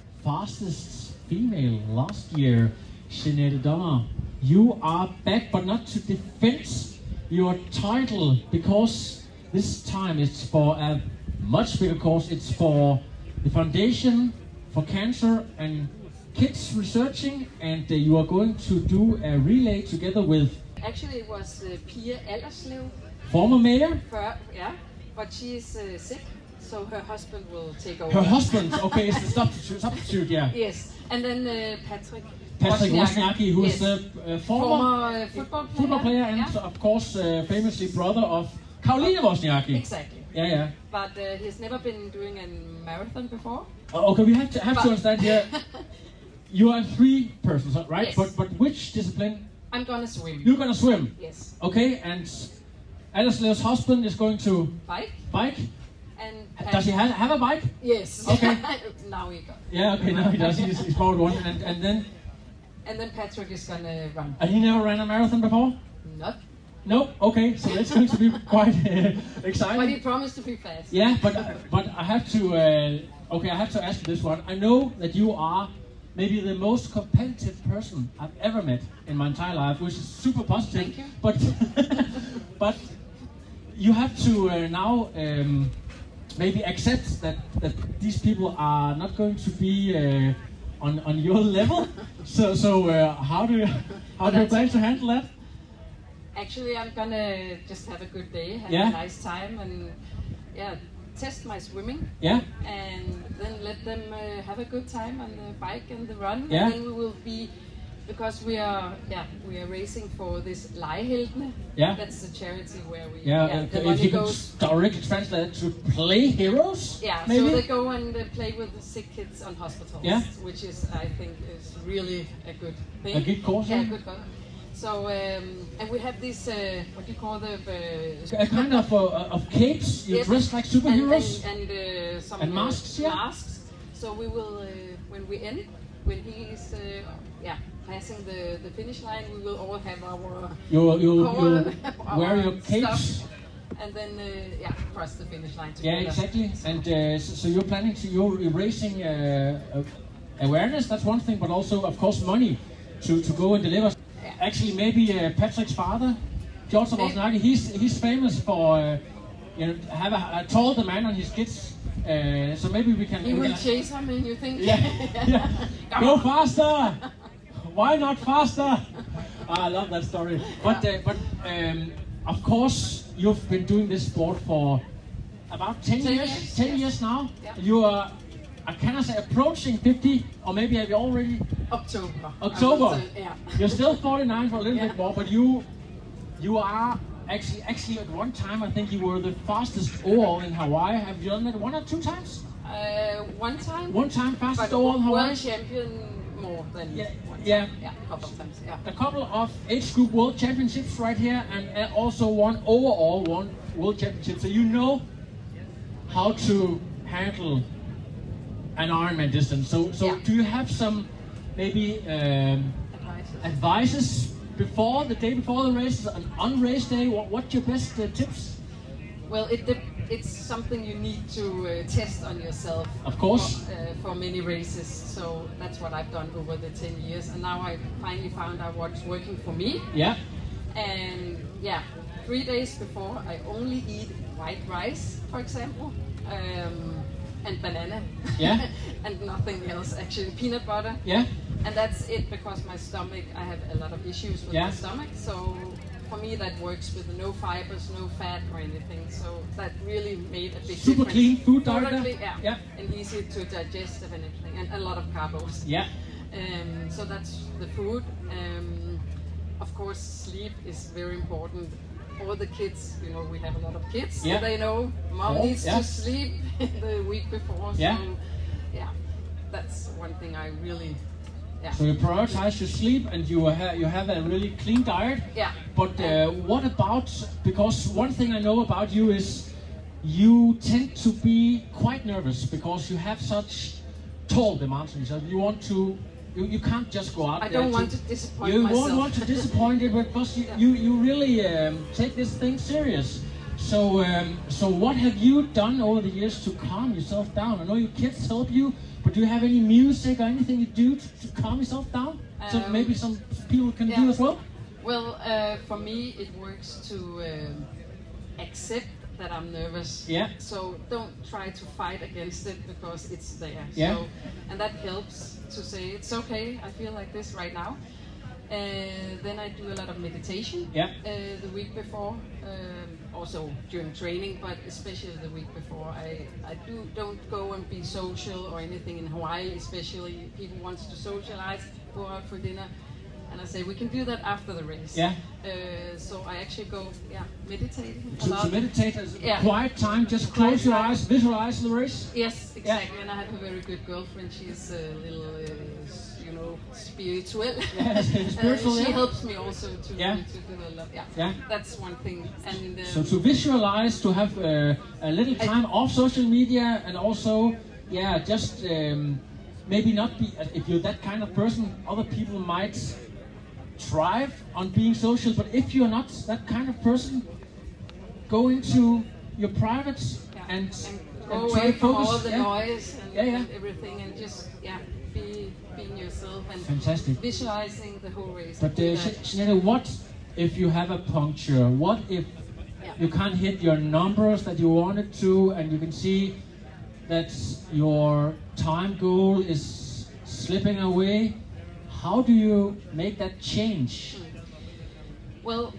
fastest female last year, Jeanette Donner. You are back, but not to defend your title, because this time it's for a much bigger cause. It's for the Foundation for Cancer and Kids Researching, and uh, you are going to do a relay together with...
Actually, it was uh, Pia Allerslev.
Former mayor?
For, yeah, but she is uh, sick, so her husband will take over.
Her husband, okay, it's the substitute, substitute, yeah.
Yes, and then uh, Patrick.
Patrick Wozniacki, who
yes.
is the uh, former,
former uh, football player,
football player and
yeah.
of course uh, famously brother of Caroline Wozniacki.
Exactly.
Yeah, yeah.
But uh, he's never been doing a marathon before.
Oh, okay, we have to have
but
to understand here. You are three persons, right?
Yes.
But but which discipline?
I'm gonna swim.
You're gonna swim.
Yes.
Okay, and Alderslev's husband is going to
bike.
Bike.
And
does he have, have a bike?
Yes.
Okay.
Now he got.
Yeah. Okay. Now he does. He's, he's bought one, and and then.
And then Patrick is gonna run.
And he never ran a marathon before?
Not.
No. Okay. So it's going to be quite uh, exciting.
But he promised to be fast.
Yeah, but but I have to. Uh, okay, I have to ask you this one. I know that you are maybe the most competitive person I've ever met in my entire life, which is super positive.
Thank you.
But but you have to uh, now um, maybe accept that that these people are not going to be. Uh, On, on your level, so so uh, how do you how do you plan to handle that?
Actually, I'm gonna just have a good day, have
yeah.
a nice time, and yeah, test my swimming.
Yeah.
And then let them uh, have a good time on the bike and the run.
Yeah.
And then we will be, because we are yeah we are racing for this Legeheltene.
Yeah.
That's the charity where we
yeah.
yeah
Uh,
the
if
money
you
goes.
could directly translate it to play heroes.
Yeah.
Maybe?
So they go and uh, play with the sick kids on hospitals.
Yeah.
Which is I think is really a good thing.
A good cause.
Yeah.
Yeah.
Good cause. So um, and we have this uh, what do you call the uh,
a kind of uh, of capes. You
yes.
dress like superheroes.
And, and, and uh, some
and
uh,
masks. Yeah.
Masks. So we will uh, when we end, when he is uh, yeah passing the, the finish line, we will all have our
you you
our,
you wear your capes.
Stuff, and then uh, yeah cross the finish line together.
Yeah, exactly. And uh, so, so you're planning to you're raising uh, uh, awareness. That's one thing, but also of course money to, to go and deliver. Yeah. Actually, maybe uh, Patrick's father, George Wozniacki, he's he's famous for uh, you know have a, a tall demand on his kids. Uh, so maybe we can.
He
we
will
can,
chase him, and you think?
Yeah. yeah. Go faster! Why not faster? I love that story. But uh, but um, of course you've been doing this sport for about ten,
ten
years.
years.
Ten
yes.
years now.
Yeah.
You are, uh, can I say, approaching fifty, or maybe have you already?
October.
October.
Say, yeah.
You're still forty-nine for a little
yeah.
bit more, but you you are actually actually at one time I think you were the fastest overall in Hawaii. Have you done that one or two times?
Uh, one time.
One time fastest
but
overall in Hawaii.
World champion more than
yeah.
one time.
Yeah.
Yeah. A couple of times. Yeah.
A couple of age group world championships right here, and uh, also one overall one world championship. So you know how to handle an Ironman distance. So so
yeah.
do you have some maybe um,
advices.
advices before the day before the race, an on race day? What what's your best uh, tips?
Well, it it's something you need to uh, test on yourself.
Of course.
For, uh, for many races, so that's what I've done over the ten years, and now I finally found out what's working for me.
Yeah.
And yeah, three days before I only eat white rice, for example, um, and banana.
Yeah.
And nothing else, actually, peanut butter.
Yeah.
And that's it, because my stomach, I have a lot of issues with
yeah.
my stomach, so for me that works with no fibers, no fat or anything, so that really made a big
Super
difference.
clean food diet.
Totally, yeah.
yeah,
and easy to digest and everything, and a lot of carbs.
Yeah.
Um, so that's the food. Um, of course, sleep is very important. All the kids, you know, we have a lot of kids,
yeah.
so they know mom
oh,
needs
yeah.
to sleep the week before.
Yeah.
So yeah, that's one thing I really. Yeah.
So you prioritize your sleep, and you have you have a really clean diet.
Yeah.
But uh, what about, because one thing I know about you is you tend to be quite nervous because you have such tall demands on yourself. You want to, you, you can't just go out
I
there.
don't
to,
want to disappoint
you
myself.
won't want to disappoint it because you,
Yeah.
you, you really um, take this thing serious. So, um, so what have you done over the years to calm yourself down? I know your kids help you, but do you have any music or anything you do to, to calm yourself down? So
Um,
maybe some people can
yeah.
do as well?
Well, uh, for me, it works to um, accept that I'm nervous.
Yeah.
So don't try to fight against it because it's there.
Yeah.
So, and that helps to say it's okay. I feel like this right now. Uh, then I do a lot of meditation.
Yeah.
Uh, the week before, um, also during training, but especially the week before, I I do don't go and be social or anything in Hawaii. Especially people want to socialize, go out for dinner. And I say we can do that after the race.
Yeah.
Uh, so I actually go, yeah, meditating a
To,
lot.
to meditate, as
Yeah.
quiet time, just
Quiet
close your
time.
eyes, visualize the race.
Yes, exactly. And I have a very good girlfriend. She's a little, uh, s- you know, spiritual.
Yeah, spiritual,
uh, she
yeah.
helps me also to,
Yeah.
to do a lot. Yeah.
Yeah.
That's one thing. And um,
So to visualize, to have uh, a little time off social media, and also, yeah, just um, maybe not be, if you're that kind of person, other people might thrive on being social, but if you're not that kind of person, go into your private
yeah.
and,
and
and
go
try
away
to
from
focus.
all the
yeah.
noise and,
Yeah, yeah.
and everything, and just yeah, be being yourself and
Fantastic.
visualizing the whole race.
But
Do
uh,
that.
Sh- Jeanette, what if you have a puncture? What if
Yeah.
you can't hit your numbers that you wanted to, and you can see that your time goal is slipping away? How do you make that change?
Well,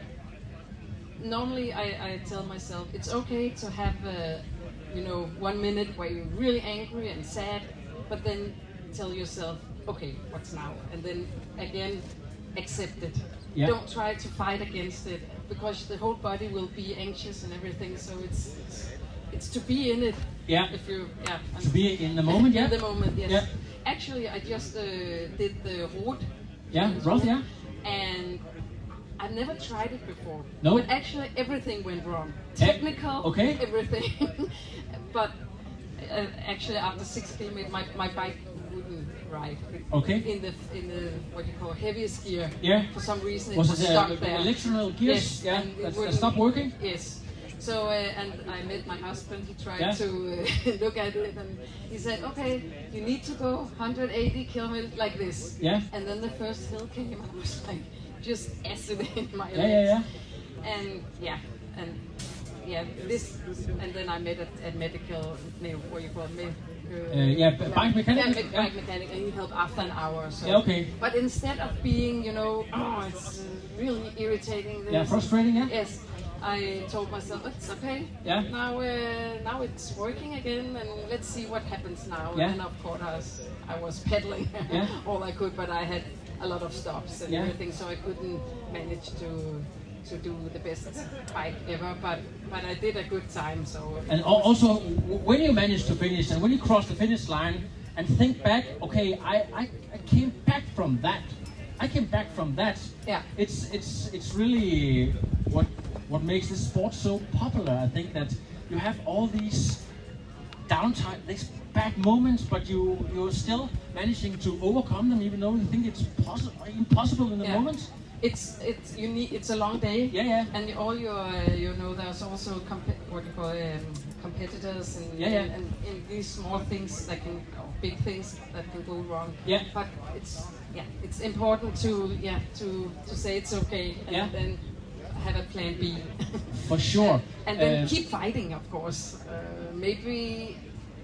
normally I, I tell myself it's okay to have a, you know, one minute where you're really angry and sad, but then tell yourself, okay, what's now? And then again, accept it.
Yeah.
Don't try to fight against it because the whole body will be anxious and everything. So it's it's, it's to be in it.
Yeah.
If you yeah.
To be in the moment, yeah.
In the moment, yes.
Yeah.
Actually, I just uh, did the road.
Yeah, road, yeah.
And I've never tried it before.
No?
But actually everything went wrong.
Eh,
Technical,
okay.
everything. But uh, actually after six kilometers, my, my bike wouldn't ride.
Okay.
In the in the what you call heaviest gear.
Yeah.
For some reason it
Was
was,
it, uh,
stuck
the
there.
electrical gears?
Yes.
Yeah,
and it
that- that
wouldn't-
stopped working?
Yes. So uh, and I met my husband. He tried
Yeah.
to uh, look at it, and he said, "Okay, you need to go one hundred eighty kilometers like this."
Yeah.
And then the first hill came, and I was like, just acid in my
Yeah,
legs.
yeah, yeah.
And yeah, and yeah, this, and then I met a, a medical, no, what you call me.
Uh, yeah, b- bike mechanic?
Yeah, me- bike mechanic, and he helped after an hour or so.
Yeah, okay.
But instead of being, you know, oh, it's uh, really irritating.
Yeah,
this-
frustrating, yeah?
Yes. I told myself it's okay.
Yeah.
Now, uh, now it's working again, and let's see what happens now.
Yeah.
And of course, I was, I was pedaling
Yeah.
all I could, but I had a lot of stops and
Yeah.
everything, so I couldn't manage to to do the best bike ever. But but I did a good time. So.
And al- also, w- when you manage to finish and when you cross the finish line and think back, okay, I, I, I came back from that. I came back from that.
Yeah.
It's it's it's really what what makes this sport so popular. I think that you have all these downtime, these bad moments, but you you're still managing to overcome them, even though you think it's possible, impossible in the
Yeah.
moment.
It's it's you need it's a long day.
Yeah, yeah.
And all your uh, you know there's also comp- what you call um, competitors and,
Yeah, yeah.
and and in these small things that can or big things that can go wrong.
Yeah.
But it's yeah it's important to yeah to to say it's okay and
Yeah.
then have a plan B.
For sure.
And then
Uh,
keep fighting, of course. Uh, maybe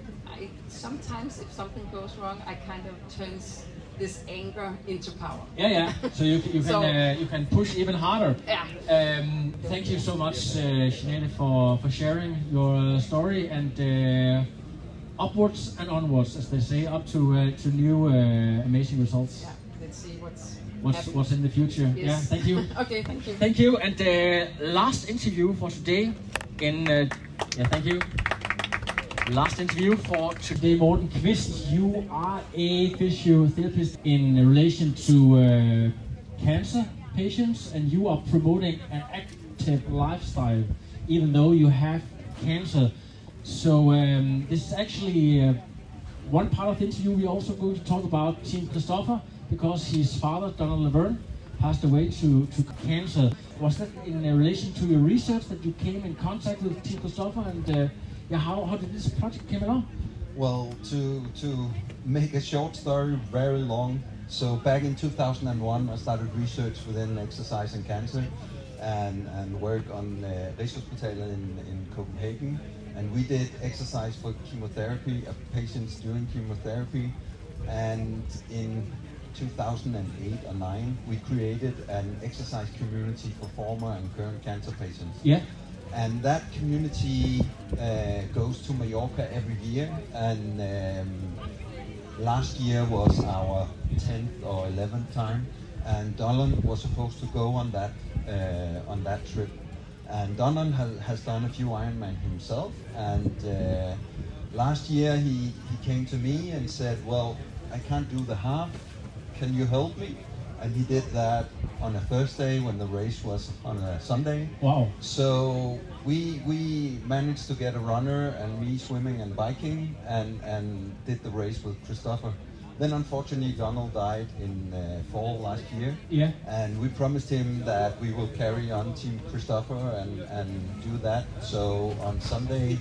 I sometimes if something goes wrong, I kind of turns this anger into power.
Yeah, yeah. So you, you can
So-
uh, you can push even harder.
Yeah.
Um, thank you so much, uh, Jeanette, for for sharing your uh, story, and uh, upwards and onwards, as they say, up to uh, to new uh, amazing results.
Yeah. Let's see what's
What's
happening.
what's in the future?
Yes.
Yeah. Thank you.
Okay. Thank you.
Thank you. And uh, last interview for today. In uh, yeah, thank you. Last interview for today, Morten Kvist. You are a physiotherapist in relation to uh, cancer patients, and you are promoting an active lifestyle, even though you have cancer. So um, this is actually uh, one part of the interview, we're also going to talk about Team Christopher, because his father, Donald Laverne, passed away to, to cancer. Was that in relation to your research that you came in contact with Team Christopher, and uh, yeah, how, how did this project come along?
Well, to to make a short story very long, so back in two thousand one I started research within exercise and cancer, and, and work on uh, Rigshospitalet in, in Copenhagen, and we did exercise for chemotherapy of patients during chemotherapy, and in two thousand eight or nine we created an exercise community for former and current cancer patients.
Yeah.
And that community uh, goes to Mallorca every year, and um, last year was our tenth or eleventh time, and Donald was supposed to go on that uh, on that trip. And Donald ha has done a few Ironman himself, and uh, last year he, he came to me and said, well, I can't do the half, can you help me? And he did that on a Thursday when the race was on a Sunday.
Wow.
So we we managed to get a runner and me swimming and biking, and, and did the race with Christopher. Then unfortunately Donald died in uh, fall last year.
Yeah.
And we promised him that we will carry on Team Christopher and, and do that. So on Sunday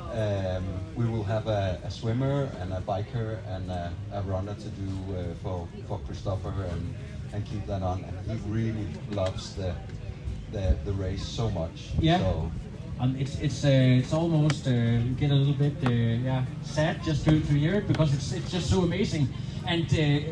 um, we will have a, a swimmer and a biker and a, a runner to do uh, for, for Christopher, and and keep that on, and he really loves the the, the race so much.
Yeah.
So
um, it's it's uh, it's almost uh, you get a little bit uh, yeah sad just to, to hear it, because it's it's just so amazing, and uh,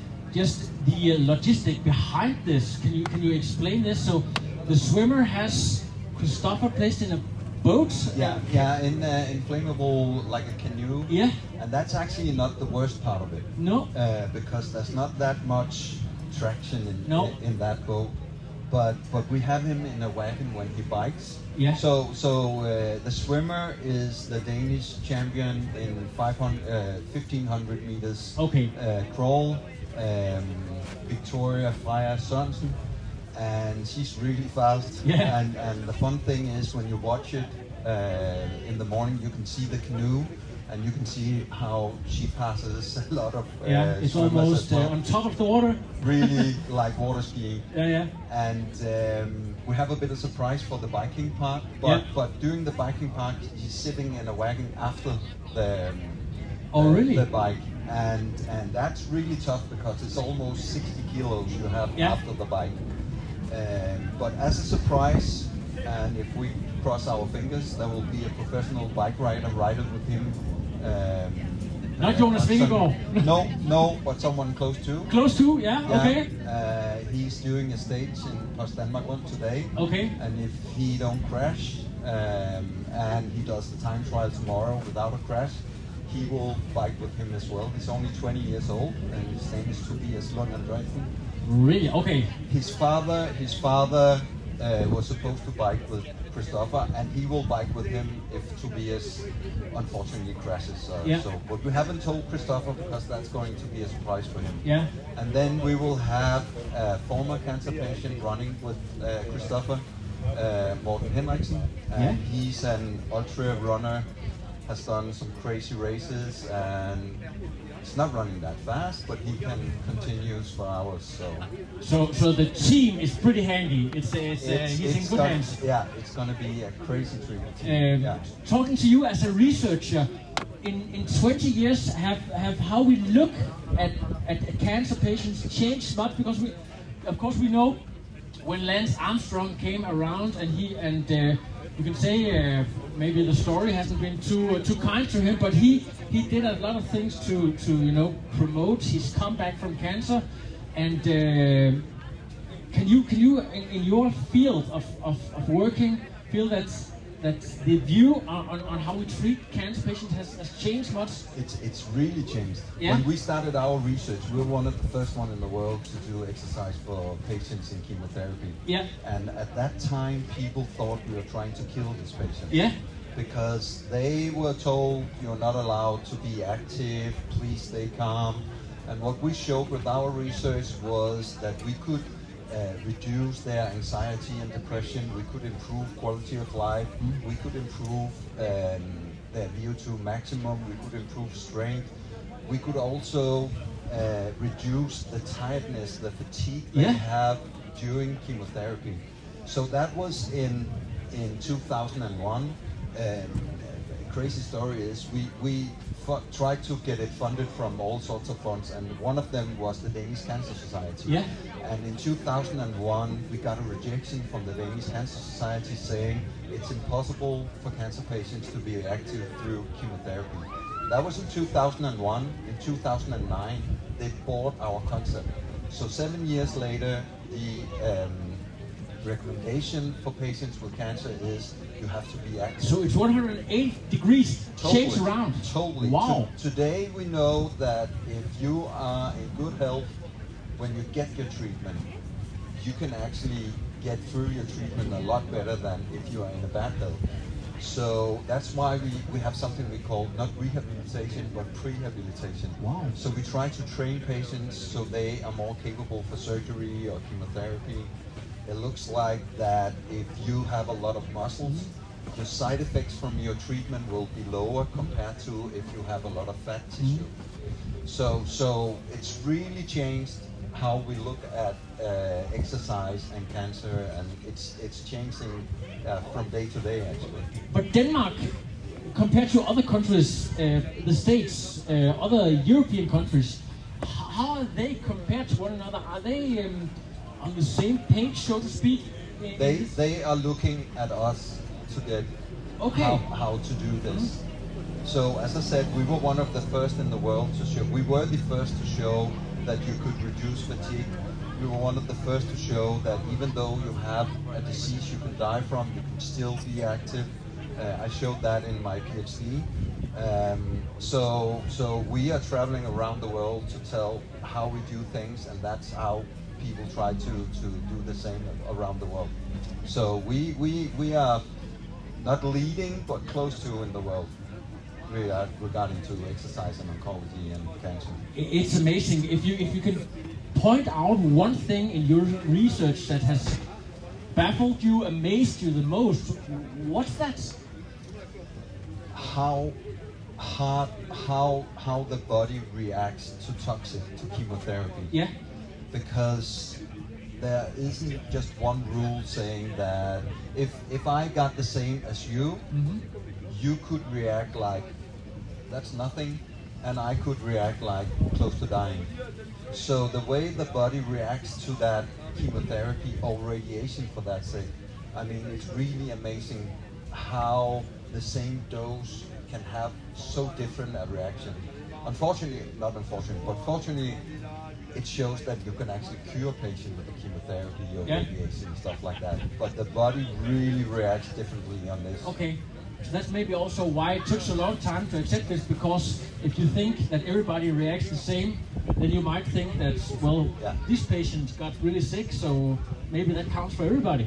just the uh, logistic behind this. Can you can you explain this? So the swimmer has Christopher placed in a boat.
Yeah, yeah, in uh, inflatable, like a canoe.
Yeah.
And that's actually not the worst part of it.
No.
Uh, because there's not that much traction in,
No.
in in that boat, but but we have him in a wagon when he bikes.
Yeah.
So so uh, the swimmer is the Danish champion in five hundred, uh, fifteen hundred meters.
Okay.
Uh, crawl, um, Victoria Freja Sørensen, and she's really fast.
Yeah.
And and the fun thing is when you watch it uh, in the morning, you can see the canoe. And you can see how she passes a lot of uh,
yeah, it's
swimmers
almost
as well.
uh, on top of the water.
Really like water skiing.
Yeah, yeah.
And um, we have a bit of surprise for the biking part, but
Yeah.
but during the biking part, he's sitting in a wagon after the um,
Oh,
the,
really?
the bike, and and that's really tough because it's almost sixty kilos you have
Yeah.
after the bike. Um, but as a surprise, and if we cross our fingers, there will be a professional bike rider riding with him. Um,
Not
uh,
Jonas
on
Vingegaard.
Sunday. No, no, but someone close to.
Close to, yeah,
Yeah,
okay.
Uh, he's doing a stage in Post Denmark one today.
Okay.
And if he don't crash, um, and he does the time trial tomorrow without a crash, he will bike with him as well. He's only twenty years old, and his name is Tobias Lund Andreasen.
Really? Okay.
His father, his father uh, was supposed to bike with Christopher, and he will bike with him if Tobias unfortunately crashes. Uh,
Yeah.
So, but we haven't told Christopher because that's going to be a surprise for him.
Yeah.
And then we will have a former cancer patient running with uh, Christopher, uh, Morten Henriksen, and
Yeah.
he's an ultra runner, has done some crazy races, and he's not running that fast, but he can continue for hours. So,
So so the team is pretty handy. It's, uh, it's, uh,
It's-
he's in
it's
good
got-
hands.
Yeah, it's going to be a crazy trip.
Um,
yeah.
Talking to you as a researcher, in, in twenty years, have, have how we look at, at cancer patients changed much? Because we, of course, we know when Lance Armstrong came around, and he and uh, you can say uh, maybe the story hasn't been too uh, too kind to him, but he he did a lot of things to to you know promote his comeback from cancer, and. Uh, Can you, can you, in, in your field of, of, of working, feel that that the view on, on, on how we treat cancer patients has, has changed much?
It's it's really changed.
Yeah.
When we started our research, we were one of the first one in the world to do exercise for patients in chemotherapy.
Yeah.
And at that time, people thought we were trying to kill these patients.
Yeah.
Because they were told you're not allowed to be active, please stay calm. And what we showed with our research was that we could Uh, reduce their anxiety and depression. We could improve quality of life. We could improve um, their V O two maximum. We could improve strength. we could also uh, reduce the tiredness, the fatigue they
Yeah.
have during chemotherapy. So that was in in two thousand one. Um, crazy story is we we fu- tried to get it funded from all sorts of funds, and one of them was the Danish Cancer Society.
Yeah.
And in two thousand one, we got a rejection from the Danish Cancer Society saying it's impossible for cancer patients to be active through chemotherapy. That was in two thousand one. In two thousand nine, they bought our concept. So seven years later, the um, recommendation for patients with cancer is you have to be active.
So it's one hundred eighty degrees change around.
Totally.
Wow.
To- today we know that if you are in good health, when you get your treatment, you can actually get through your treatment a lot better than if you are in a bad health. So that's why we, we have something we call not rehabilitation but prehabilitation.
Wow.
So we try to train patients so they are more capable for surgery or chemotherapy. It looks like that if you have a lot of muscles, the side effects from your treatment will be lower compared to if you have a lot of fat tissue. So, so it's really changed how we look at uh, exercise and cancer, and it's it's changing uh, from day to day actually.
But Denmark, compared to other countries, uh, the States, uh, other European countries, h- how are they compared to one another? Are they um, on the same page, so to speak? in- in
They
this?
they are looking at us to get
Okay.
how, how to do this. So as I said, we were one of the first in the world to show. We were the first to show that you could reduce fatigue. We were one of the first to show that even though you have a disease you can die from, you can still be active. Uh, I showed that in my PhD. Um, so, so we are traveling around the world to tell how we do things, and that's how people try to, to do the same around the world. So we, we, we are not leading, but close to in the world re- regarding to exercise and oncology and cancer.
I- It's amazing. If you if you can point out one thing in your research that has baffled you, amazed you the most, what's that?
How hard, how how the body reacts to toxic, to chemotherapy.
Yeah.
Because there isn't just one rule saying that if if I got the same as you, you could react like that's nothing, and I could react like close to dying. So the way the body reacts to that chemotherapy or radiation for that sake, I mean, it's really amazing how the same dose can have so different a reaction. Unfortunately, not unfortunately, but fortunately, it shows that you can actually cure patients with the chemotherapy or
Yeah.
radiation and stuff like that. But the body really reacts differently on this.
Okay. So that's maybe also why it took so long time to accept this, because if you think that everybody reacts the same, then you might think that, well,
Yeah.
this patient got really sick, so maybe that counts for everybody.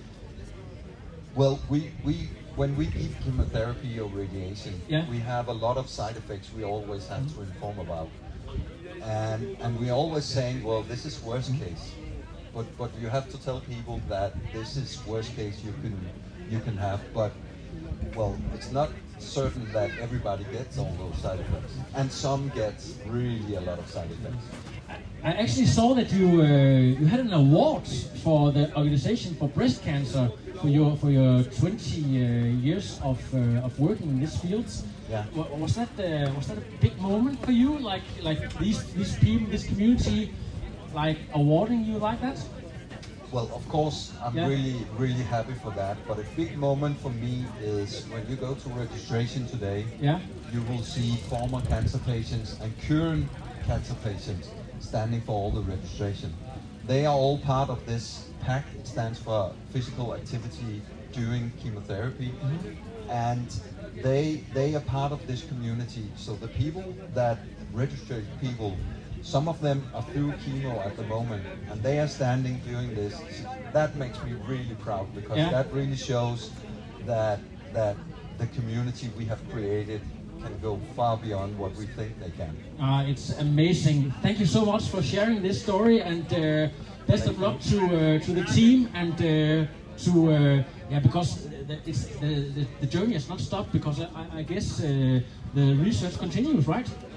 Well, we, we when we give chemotherapy or radiation,
Yeah.
we have a lot of side effects we always have to inform about. And and we're always saying, well, this is worst case. But but you have to tell people that this is worst case you can you can have. But well, it's not certain that everybody gets all those side effects. And some gets really a lot of side effects.
I actually saw that you uh, you had an award for the Organization for Breast Cancer for your for your twenty uh, years of uh, of working in this field.
Yeah.
Wa- Was that uh, was that a big moment for you? Like like these these people, this community, like awarding you like that?
Well, of course, I'm
Yeah.
really, really happy for that. But a big moment for me is when you go to registration today,
Yeah.
you will see former cancer patients and current cancer patients standing for all the registration. They are all part of this PAC. It stands for physical activity during chemotherapy. And they they are part of this community. So the people that register people, some of them are through chemo at the moment, and they are standing doing this. That makes me really proud, because
Yeah.
that really shows that that the community we have created can go far beyond what we think they can.
Uh, it's amazing. Thank you so much for sharing this story, and uh, best of luck to uh, to the team and uh, to uh, yeah, because the, it's the, the the journey has not stopped, because I, I guess uh, the research continues, right?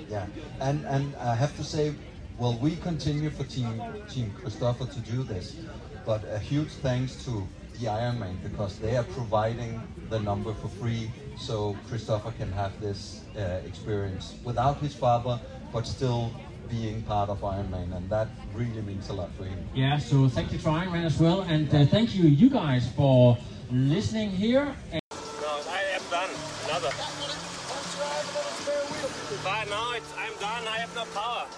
Yeah, and and I have to say, well, we continue for Team Team Christopher to do this, but a huge thanks to the Ironman because they are providing the number for free, so Christopher can have this uh, experience without his father, but still being part of Ironman, and that really means a lot for him.
Yeah, so thank you to Ironman as well, and uh, thank you you guys for listening here.
No, I am done. Another. But now it's, I'm done. I have no power.